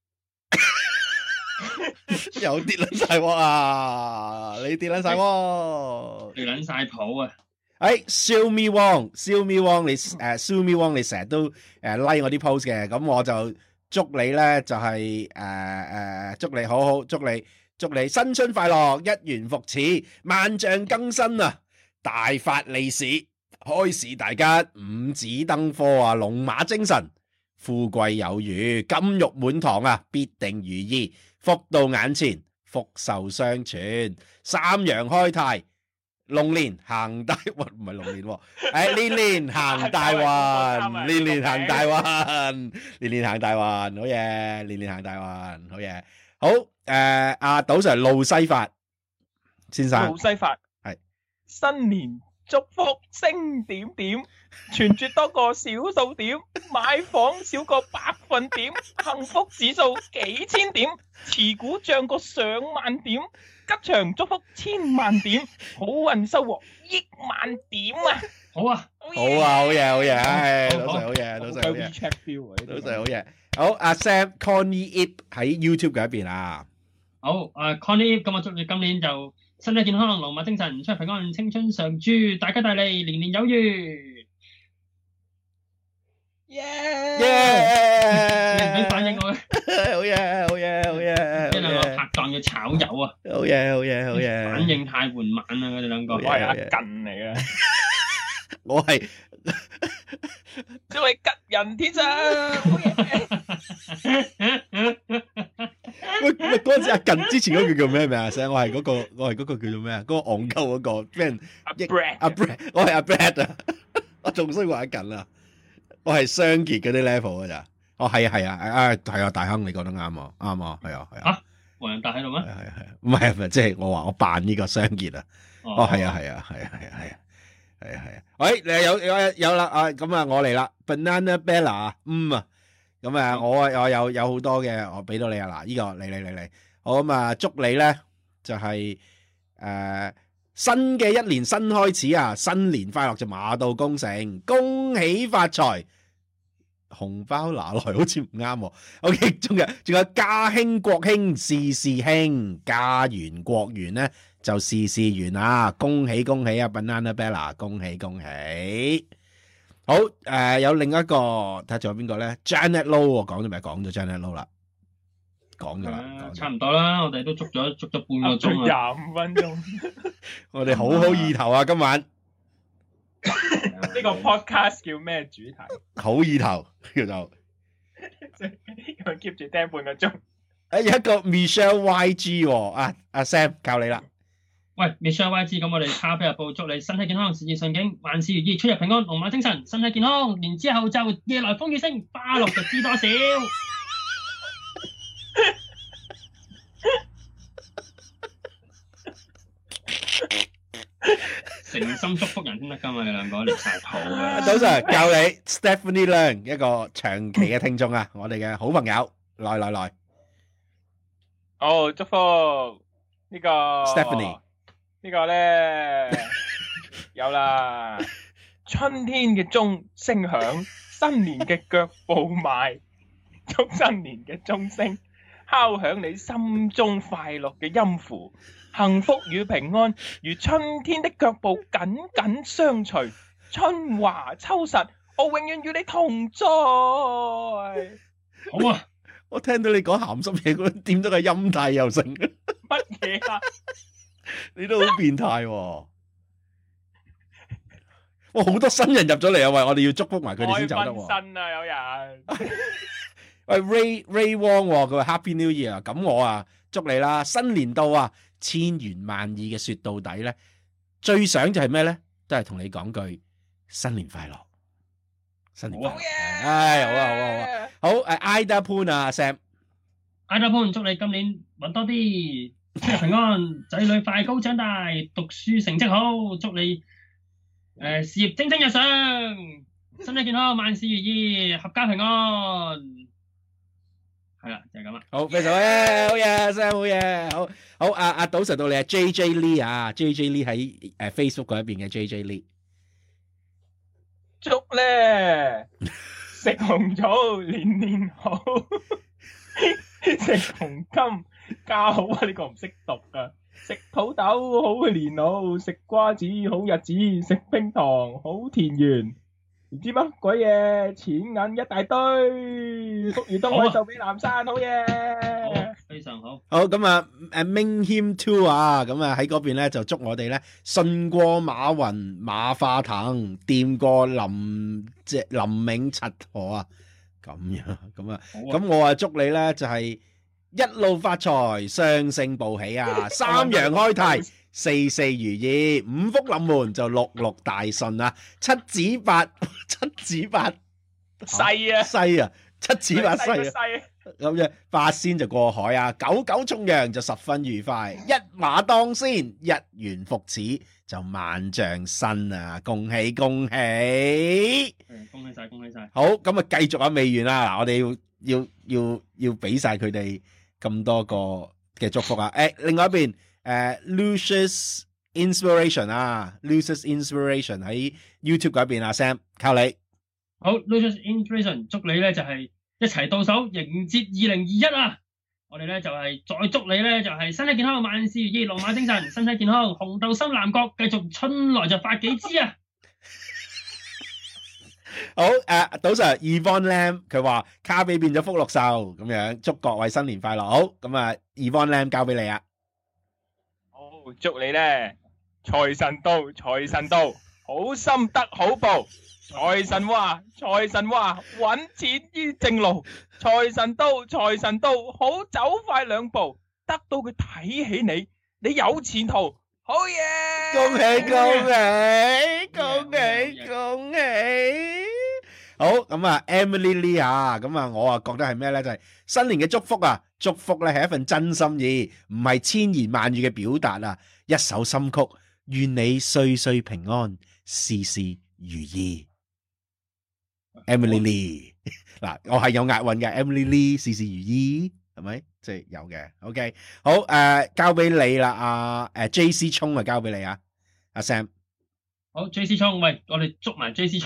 有跌撚晒鑊啊！你跌撚晒鑊， 跌撚晒譜啊！ 哎 ，Xiaomi Wong，Xiaomi Wong，你誒 Xiaomi Wong，你成日都誒 like 我啲 post 嘅，咁我就祝你咧就係誒誒，祝你好好，祝你祝你新春快樂，一元復始，萬象更新啊，大發利市，開市大吉，五子登科啊，龍馬精神，富貴有餘，金玉滿堂啊，必定如意，福到眼前，福壽相傳，三陽開泰。龍年行大運，唔係龍年喎，誒年年行大運，年年行大運，年年行大運，好嘢，年年行大運，好嘢，好誒，阿賭 Sir 路西法先生， 路西法係新年祝福升點點，存住多個小數點，買房少個百分點，幸福指數幾千點，持股漲個上萬點。吉祥祝福千萬點，好運收穫億萬點啊！ 好啊， 好啊，好嘢，好嘢，唉，老細好嘢，老細好嘢，老細好嘢。好，阿 Sam Connie Ip 喺 YouTube 嗰一邊啊。 好，誒 Connie Ip，咁我祝你今年就身體健康，龍馬精神，出入平安，青春常駐，大吉大利，年年有餘。 耶！ 耶！你唔俾反應我嘅， 好嘢，好嘢，好嘢。 呢兩個拍檔嘅炒友啊！ 好嘢，好嘢，好嘢。 反應太緩慢啦，佢哋兩個。 我係阿近嚟嘅， 我係即係吉人天相。 喂喂，嗰陣時阿近之前嗰個叫咩名啊？聲我係嗰個，我係嗰個叫做咩啊？嗰個戇鳩嗰個俾人阿 Brad， 阿 Brad，我係阿 Brad 啊！我仲衰過阿近啊！我係雙傑嗰啲 level 噶咋？哦，係啊，係啊，啊係啊，大亨，你講得啱啊，啱啊，係啊，係啊。嚇， 黃仁達喺度咩？ 係係係，唔係唔係，即係我話我扮呢個雙傑啊。哦，係啊，係啊，係啊，係啊，係啊，係啊，係啊。喂，你有有有啦啊！咁啊，我嚟啦 ，Banana Bella，嗯啊，咁啊，我我有有好多嘅，我俾到你啊嗱，呢個嚟嚟嚟嚟，好咁啊，祝你咧就係誒新嘅一年新開始啊，新年快樂就馬到功成，恭喜發財。紅包拿來好似唔啱喎。OK， 仲有仲有家興國興事事興，家圓國圓咧就事事圓啊！恭喜恭喜啊 Banana Bella， 恭喜恭喜！好誒、呃，有另一個睇下仲有邊個咧 ？Janet Low 我講咗未？講咗 Janet Low 啦，講咗啦， 差唔多啦。我哋都捉咗捉咗半個鐘啊， 廿五分鐘。 我哋好好意頭啊，今晚。 呢個 podcast 叫咩主題？ 好意頭叫做， 因為 keep 住聽半個鐘。 誒，有一個 Michelle Y G 喎，啊阿 Sam 教你啦。 喂 ，Michelle Y G， 咁我哋卡比日報祝你身體健康，事業順境，萬事如意，出入平安，龍馬精神，身體健康。然之後就夜來風雨聲，花落就知多少。誠心祝福人先得噶嘛，你兩個練晒譜嘅。 早晨教你 Stephanie Leung 一個長期嘅聽眾啊，我哋嘅好朋友，來來來。 好，祝福呢個 Stephanie 呢個咧有啦。春天嘅鐘聲響，新年嘅腳步邁，祝新年嘅鐘聲敲響你心中快樂嘅音符。幸福與平安如春天的腳步緊緊相隨，春華秋實，我永遠與你同在。 好啊！ 我聽到你講鹹濕嘢，嗰點咗個音帶又成。 乜嘢啊？ 你都好變態喎！哇，好多新人入咗嚟啊！喂，我哋要祝福埋佢哋先走得喎。 開新啊，有人。 喂 ，Ray Ray Wong 佢話 Happy New Year，咁我啊祝你啦，新年到啊，千言萬語嘅說到底咧，最想就係咩咧？都係同你講句新年快樂，新年快樂。唉，好啊，好啊，好啊，好誒，Ida Poon 啊 ，Sam，Ida Poon，祝你今年搵多啲，出入平安，仔女快高長大，讀書成績好，祝你誒事業蒸蒸日上，身體健康，萬事如意，合家平安。係啦，就係咁啦。 好，非常好嘢，好嘢，Sam，好嘢，好好。阿阿賭 Sir 到你啊 ，J J Lee 啊 ，J J Lee 喺誒 Facebook 嗰一邊嘅 J J Lee。 祝咧食紅棗年年好，食紅金家好啊！呢個唔識讀噶，食土豆好年老，食瓜子好日子，食冰糖好田園。唔知乜鬼嘢，錢銀一大堆，福如東海就俾南山，好嘢， 非常好。 好咁啊，誒 Ming Him Too 啊，咁啊喺嗰邊咧就祝我哋咧順過馬雲馬化騰，掂過林即林銘柒河啊，咁樣咁啊，咁我啊祝你咧就係一路發財，雙星報喜啊，三陽開泰。四四如意，五福臨門就六六大順啊！七子八七子八細啊細啊，七子八細啊！咁樣八仙就過海啊，九九重陽就十分愉快，一馬當先，一元復始就萬象新啊！恭喜恭喜！ 恭喜晒恭喜晒！ 好，咁啊繼續啊未完啦，嗱我哋要要要要俾晒佢哋咁多個嘅祝福啊！誒，另外一邊。誒、uh, Lucius Inspiration 啊 Lucius Inspiration 喺 YouTube 嗰邊啊 Sam 靠你。 好 Lucius Inspiration 祝你咧就係、是、一齊到手迎接二零二一啊！我哋咧就係、是、再祝你咧就係、是、身體健康萬事如意龍馬精神身體健康紅豆心南國繼續春來就發幾支啊！ 好誒，賭 Sir Yvonne Lam 佢話卡比變咗福祿壽咁樣，祝各位新年快樂。好咁啊 Yvonne Lam 交俾你啊！ 祝你咧財神到，財神到，好心得好報。財神話，財神話，搵錢於正路。財神到，財神到，好走快兩步，得到佢睇起你，你有前途。好嘢！ 恭喜恭喜恭喜恭喜！好咁啊 ，Emily Lee 啊，咁啊，我啊覺得係咩咧？就係新年嘅祝福啊！祝福咧係一份真心意，唔係千言萬語嘅表達啊！一首心曲，願你歲歲平安，事事如意。Emily Lee 嗱，我係有押韻嘅 Emily Lee，事事如意，係咪？即係有嘅。OK，好誒，交俾你啦，阿誒 J C 聰啊，交俾你啊，阿 Sam。 好 J C 聰，喂，我哋捉埋 J C 聰。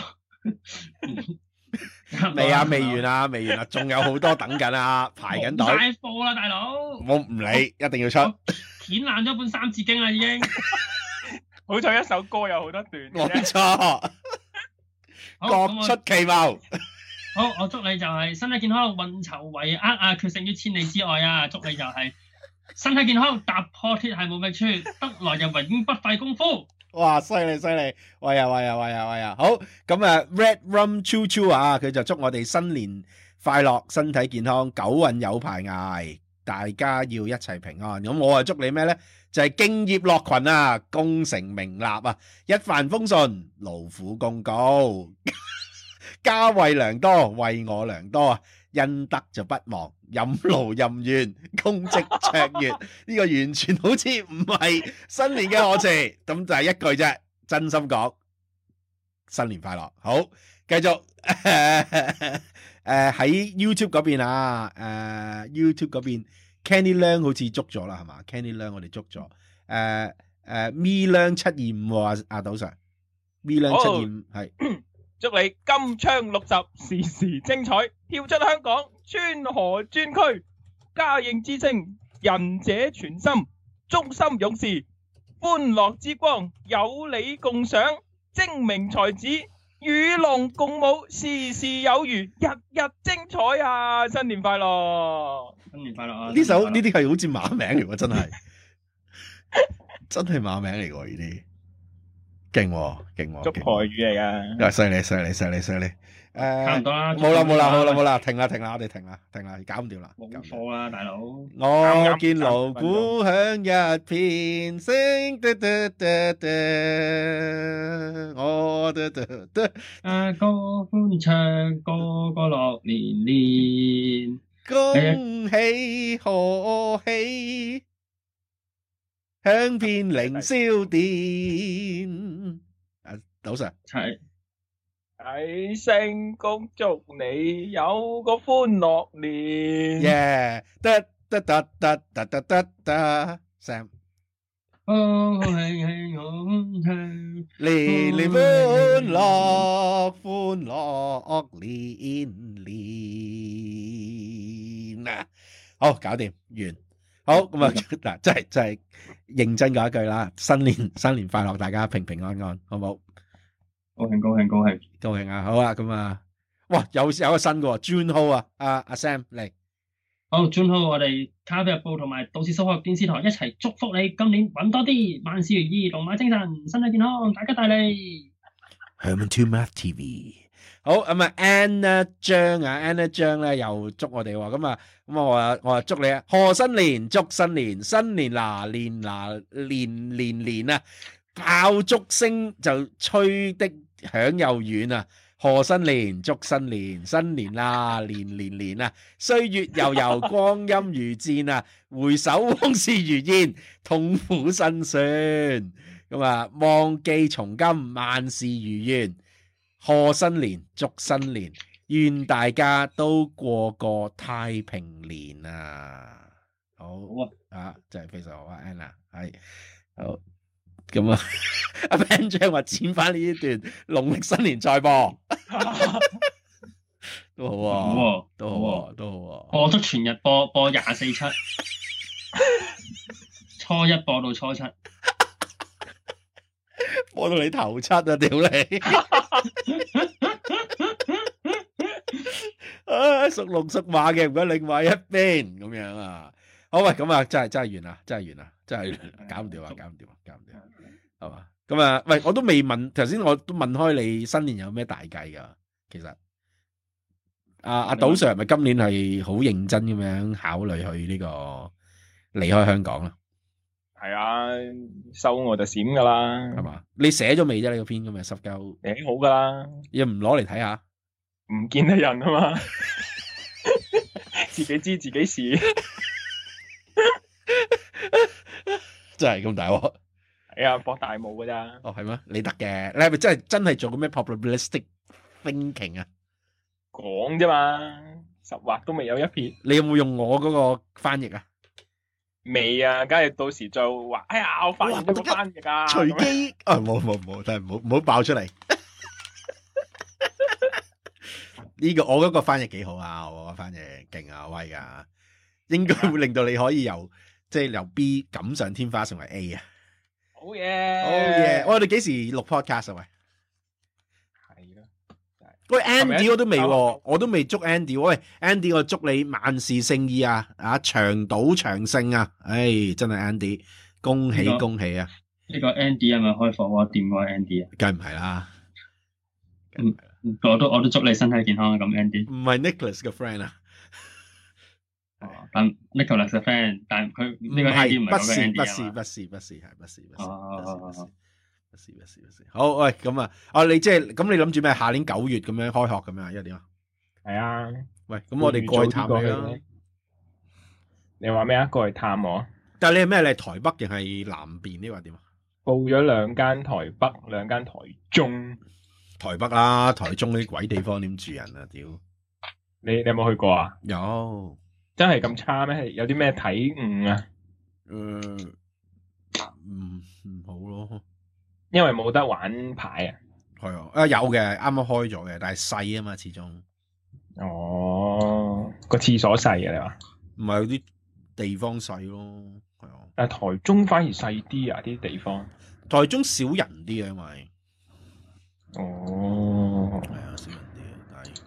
未啊，未完啊，未完啊，仲有好多等緊啊，排緊隊。 晒貨啦，大佬！ 我唔理，一定要出。 剪爛咗本三字經啦，已經。 好彩一首歌有好多段。 冇錯。各出奇謀。 好，我祝你就係身體健康，運籌帷幄啊，決勝於千里之外啊！祝你就係身體健康，踏破鐵鞋無覓處，得來就永不費功夫。 哇，犀利犀利，喂呀喂呀喂呀喂呀，好咁啊 Red Rum Choo Choo 啊，佢就祝我哋新年快樂，身體健康，九運有排捱，大家要一齊平安。咁我啊祝你咩咧？就係、是、敬業樂群啊，功成名立啊，一帆風順，勞苦功高，家惠良多，為我良多啊！恩德就不忘，任勞任怨，功績卓越。呢個完全好似唔係新年嘅賀詞，咁就係一句啫。真心講，新年快樂。好，繼續誒喺 YouTube 嗰邊啊，誒 YouTube 嗰邊 Kenny Leung 好似捉咗啦，係嘛 ？Kenny Leung 我哋捉咗。誒誒 Me Leung 七二五阿阿賭 Sir Me Leung 七二五係。 祝你金槍六十，時時精彩，跳出香港，川河專區，家應之稱，仁者全心，忠心勇士，歡樂之光，有你共賞，精明才子， 與龍共舞，時時有餘，日日精彩啊！新年快樂！ 新年快樂啊！ 呢首呢啲係好似馬名嚟喎，真係真係馬名嚟喎，呢啲勁喎勁喎， 祝台語嚟噶， 犀利犀利犀利犀利。誒， 差唔多啦， 冇啦冇啦冇啦冇啦，停啦停啦，我哋停啦停啦，搞唔掂啦， 冇錯啦，大佬。 我見鑼鼓響一片，聲嘟嘟嘟嘟，我嘟嘟嘟。 啊，歌歡唱，個個樂年年， 恭喜賀喜，響遍凌霄殿。啊，賭 Sir。 係。 喺星恭祝你有個歡樂年。 耶！得得得得得得得得 ，Sam。 哦，慶慶好慶， 年年歡樂，歡樂年年啊！好，搞掂完。好咁啊，嗱，真係真係認真講一句啦，新年新年快樂，大家平平安安，好唔好？ 高興高興高興高興啊！好啊，咁啊，哇，有有個新嘅 June Ho 啊，阿阿 Sam 嚟。 好 June Ho，我哋卡比日報同埋都市數學電視台一齊祝福你今年揾多啲，萬事如意，龍馬精神，身體健康，大吉大利。 Herman Two Math T V。好咁啊 ，Anna 張啊 ，Anna 張咧又祝我哋喎，咁啊，咁我話我話祝你啊，賀新年，祝新年，新年嗱年嗱年年年啊，爆竹聲就吹的響又遠啊！賀新年，祝新年，新年啦，年年年啊！歲月悠悠，光陰如箭啊！回首往事如煙，痛苦辛酸。咁啊，忘記從今，萬事如願。賀新年，祝新年，願大家都過個太平年啊！好啊，真係非常好啊 ，Anna 係好。咁啊，阿 Ben 將話剪翻呢一段農曆新年再播，都好啊， 好啊， 都好啊，都好啊。 播足全日播，播廿四七，初一播到初七， 播到你頭七啊！屌你，啊，屬龍屬馬嘅唔該，另外一邊咁樣啊。好喂，咁啊，真係真係完啦，真係完啦，真係搞唔掂啊，搞唔掂啊，搞唔掂。係嘛？咁啊，喂，我都未問，頭先我都問開你新年有咩大計噶？其實，阿阿賭 Sir 係咪今年係好認真咁樣考慮去呢個離開香港啦？ 係啊，收我就閃噶啦， 係嘛？你寫咗未啫？呢個篇咁嘅濕鳩寫好噶啦， 又唔攞嚟睇下？ 唔見得人啊嘛，自己知自己事， 真係咁大鑊。 係啊，博大霧噶咋？ 哦，係咩？你得嘅，你係咪真係真係做過咩 probabilistic thinking 啊？ 講啫嘛，十劃都未有一撇。 你有冇用我嗰個翻譯啊？ 未啊，梗係到時再話。哎呀，我發現咗個翻譯啊！ 隨機啊，冇冇冇，真係唔好唔好爆出嚟。呢個我嗰個翻譯幾好啊，我個翻譯勁啊，威噶，應該會令到你可以由即係由 B 錦上添花成為 A 啊！ 好嘢， 好嘢！我哋幾時錄 podcast 啊？喂， 係咯， 喂 Andy 我都未，我都未祝 Andy。喂 Andy，我祝你萬事勝意啊！啊，長賭長勝啊！唉，真係 Andy，恭喜恭喜啊！ 呢個 Andy 係咪開火鍋店嗰個 Andy 啊？ 梗唔係啦， 嗯，我都我都祝你身體健康啊！咁 Andy 唔係 Nicholas 嘅 friend 啊。 但 Nicholas 嘅 friend，但佢呢個 Andy 唔係嗰個 Andy 不是不是不是係不是不是不是不是不是不是好喂咁啊！啊你即係咁你諗住咩？下年九月咁樣開學咁樣，因為點啊？ 係啊！ 喂，咁我哋過去探你啦。 你話咩啊？過去探我？ 但係你係咩？你係台北定係南邊呢？話點啊？ 報咗兩間台北，兩間台中。 台北啦，台中呢啲鬼地方點住人啊？屌！ 你你有冇去過啊？ 有。 真係咁差咩？有啲咩體悟啊？ 誒，唔唔好咯， 因為冇得玩牌啊。 係啊，啊有嘅，啱啱開咗嘅，但係細啊嘛，始終。 哦，個廁所細啊，你話？ 唔係有啲地方細咯，係啊。 但係台中反而細啲啊，啲地方。 台中少人啲啊，因為。 哦。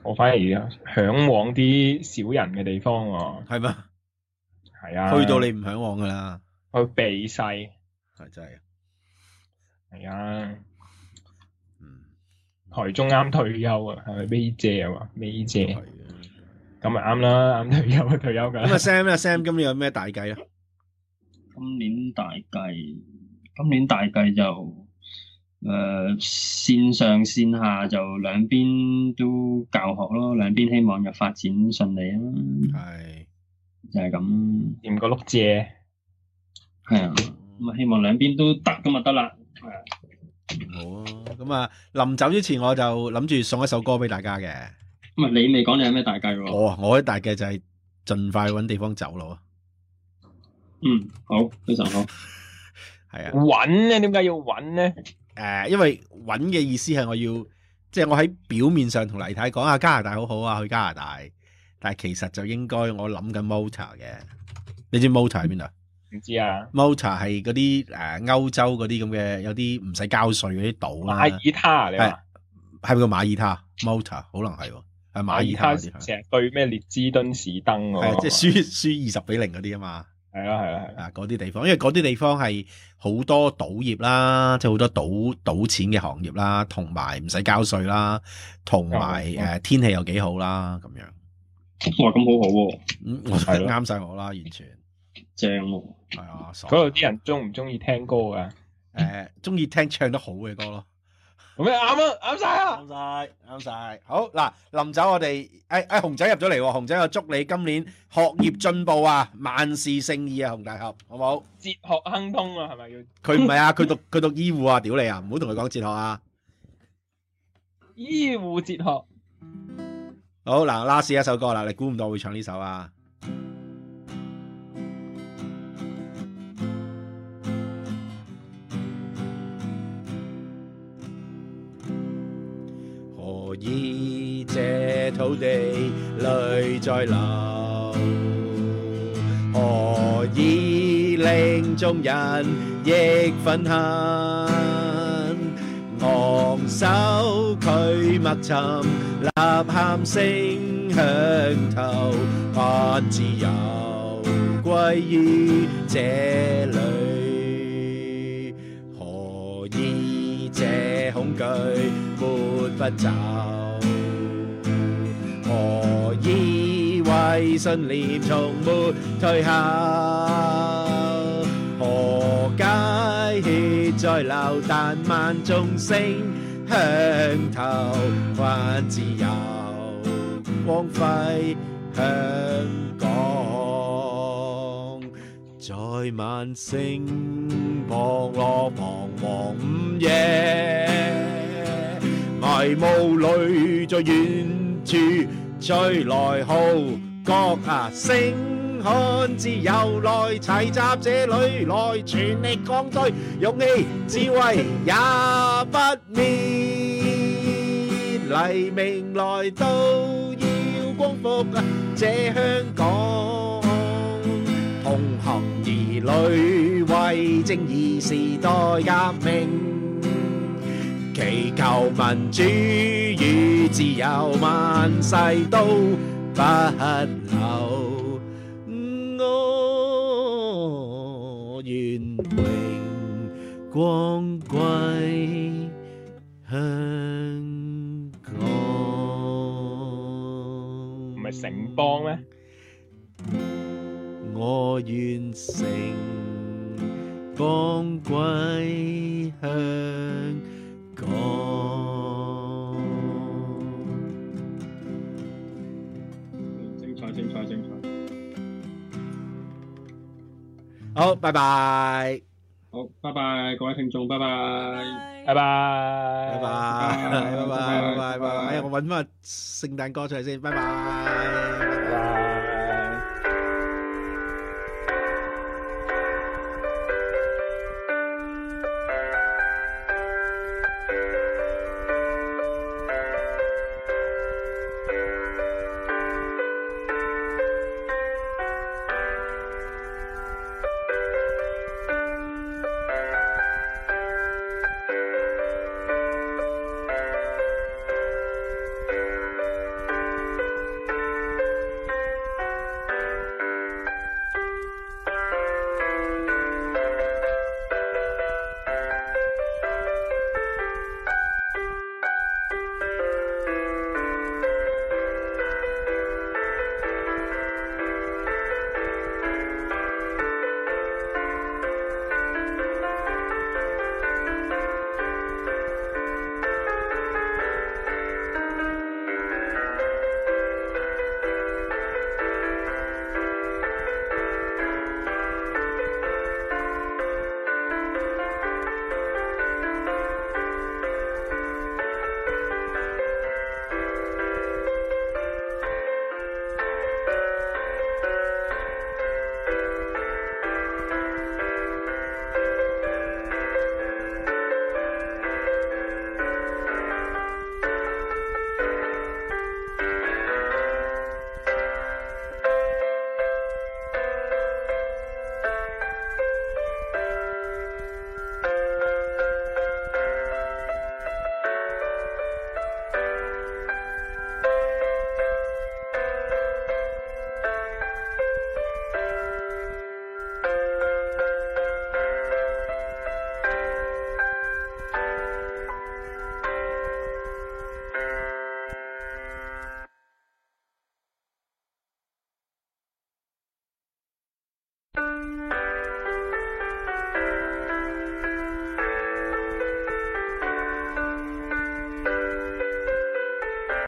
我反而嚮往啲少人嘅地方喎。 係咩？ 係啊， 去到你唔嚮往噶啦， 去避世係真係。 係啊， 嗯， 台中啱退休啊，係咪 May 姐啊嘛？May 姐係啊， 咁咪啱啦，啱退休啊，退休㗎。 咁啊 Sam 咧，Sam 今年有咩大計啊？ 今年大計，今年大計就誒、呃、線上線下就兩邊都教學咯，兩邊希望就發展順利啊。 係， 就係咁。 掂個碌蔗。 係啊，咁啊希望兩邊都得咁就得啦。係啊。 好啊，咁啊臨走之前我就諗住送一首歌俾大家嘅。 咁啊，你未講你有咩大計喎？ 我我啲大計就係盡快揾地方走咯。 嗯，好，非常好。 係啊。 揾咧？點解要揾咧？ 誒、呃，因為揾嘅意思係我要，即係我喺表面上同黎太講啊，加拿大好好啊，去加拿大，但係其實就應該我諗緊 Malta 嘅。你知 Malta 喺邊度？ 唔知啊。 Malta 係嗰啲誒歐洲嗰啲咁嘅，有啲唔使交稅嗰啲島啦。 馬耳他你話係咪個馬耳他 Malta？可能係喎，係馬耳他嗰啲。 成日對咩列支敦士登喎？ 係即係輸輸二十比零嗰啲啊嘛。 係啊係啊係啊！嗰啲地方，因為嗰啲地方係好多賭業啦，即係好多賭賭錢嘅行業啦，同埋唔使交稅啦，同埋誒天氣又幾好啦，咁樣。 哇！咁好好喎。 嗯，我覺得啱晒我啦，完全。 正喎。 係啊， 嗰度啲人中唔中意聽歌噶？ 誒，中意聽唱得好嘅歌咯。 咁咩啱啊？啱晒啊！ 啱晒，啱晒。好嗱，臨走我哋誒誒，熊仔入咗嚟喎，熊仔我祝你今年學業進步啊，萬事勝意啊，熊大俠，好唔好？ 哲學亨通啊，係咪要？ 佢唔係啊，佢讀佢讀醫護啊，屌你啊，唔好同佢講哲學啊。 醫護哲學。 好嗱，last 一首歌啦，你估唔到我會唱呢首啊？何以這土地淚在流？何以令眾人亦憤恨？昂首拒默沉，吶喊聲響透，盼自由歸於這裏。何以這恐懼沒不走？何以為信念從沒退後？何解血在流，但萬眾聲響透，還自由光輝香港。在萬星降落彷徨午夜，迷霧裏在遠處吹來號角啊聲，看自由來齊集這裏來，全力抗拒，勇氣智慧也不滅，黎明來到要光復這香港，同行兒女為正義時代革命，祈求民主與自由萬世都不朽。我願榮光歸香港。 唔係城邦咩？ 我願城邦歸香港。 精彩，精彩，精彩。 好，拜拜。 好，拜拜，各位聽眾，拜拜， 拜拜， 拜拜，拜拜，拜拜，拜拜。哎呀，我揾翻個聖誕歌出嚟先，拜拜。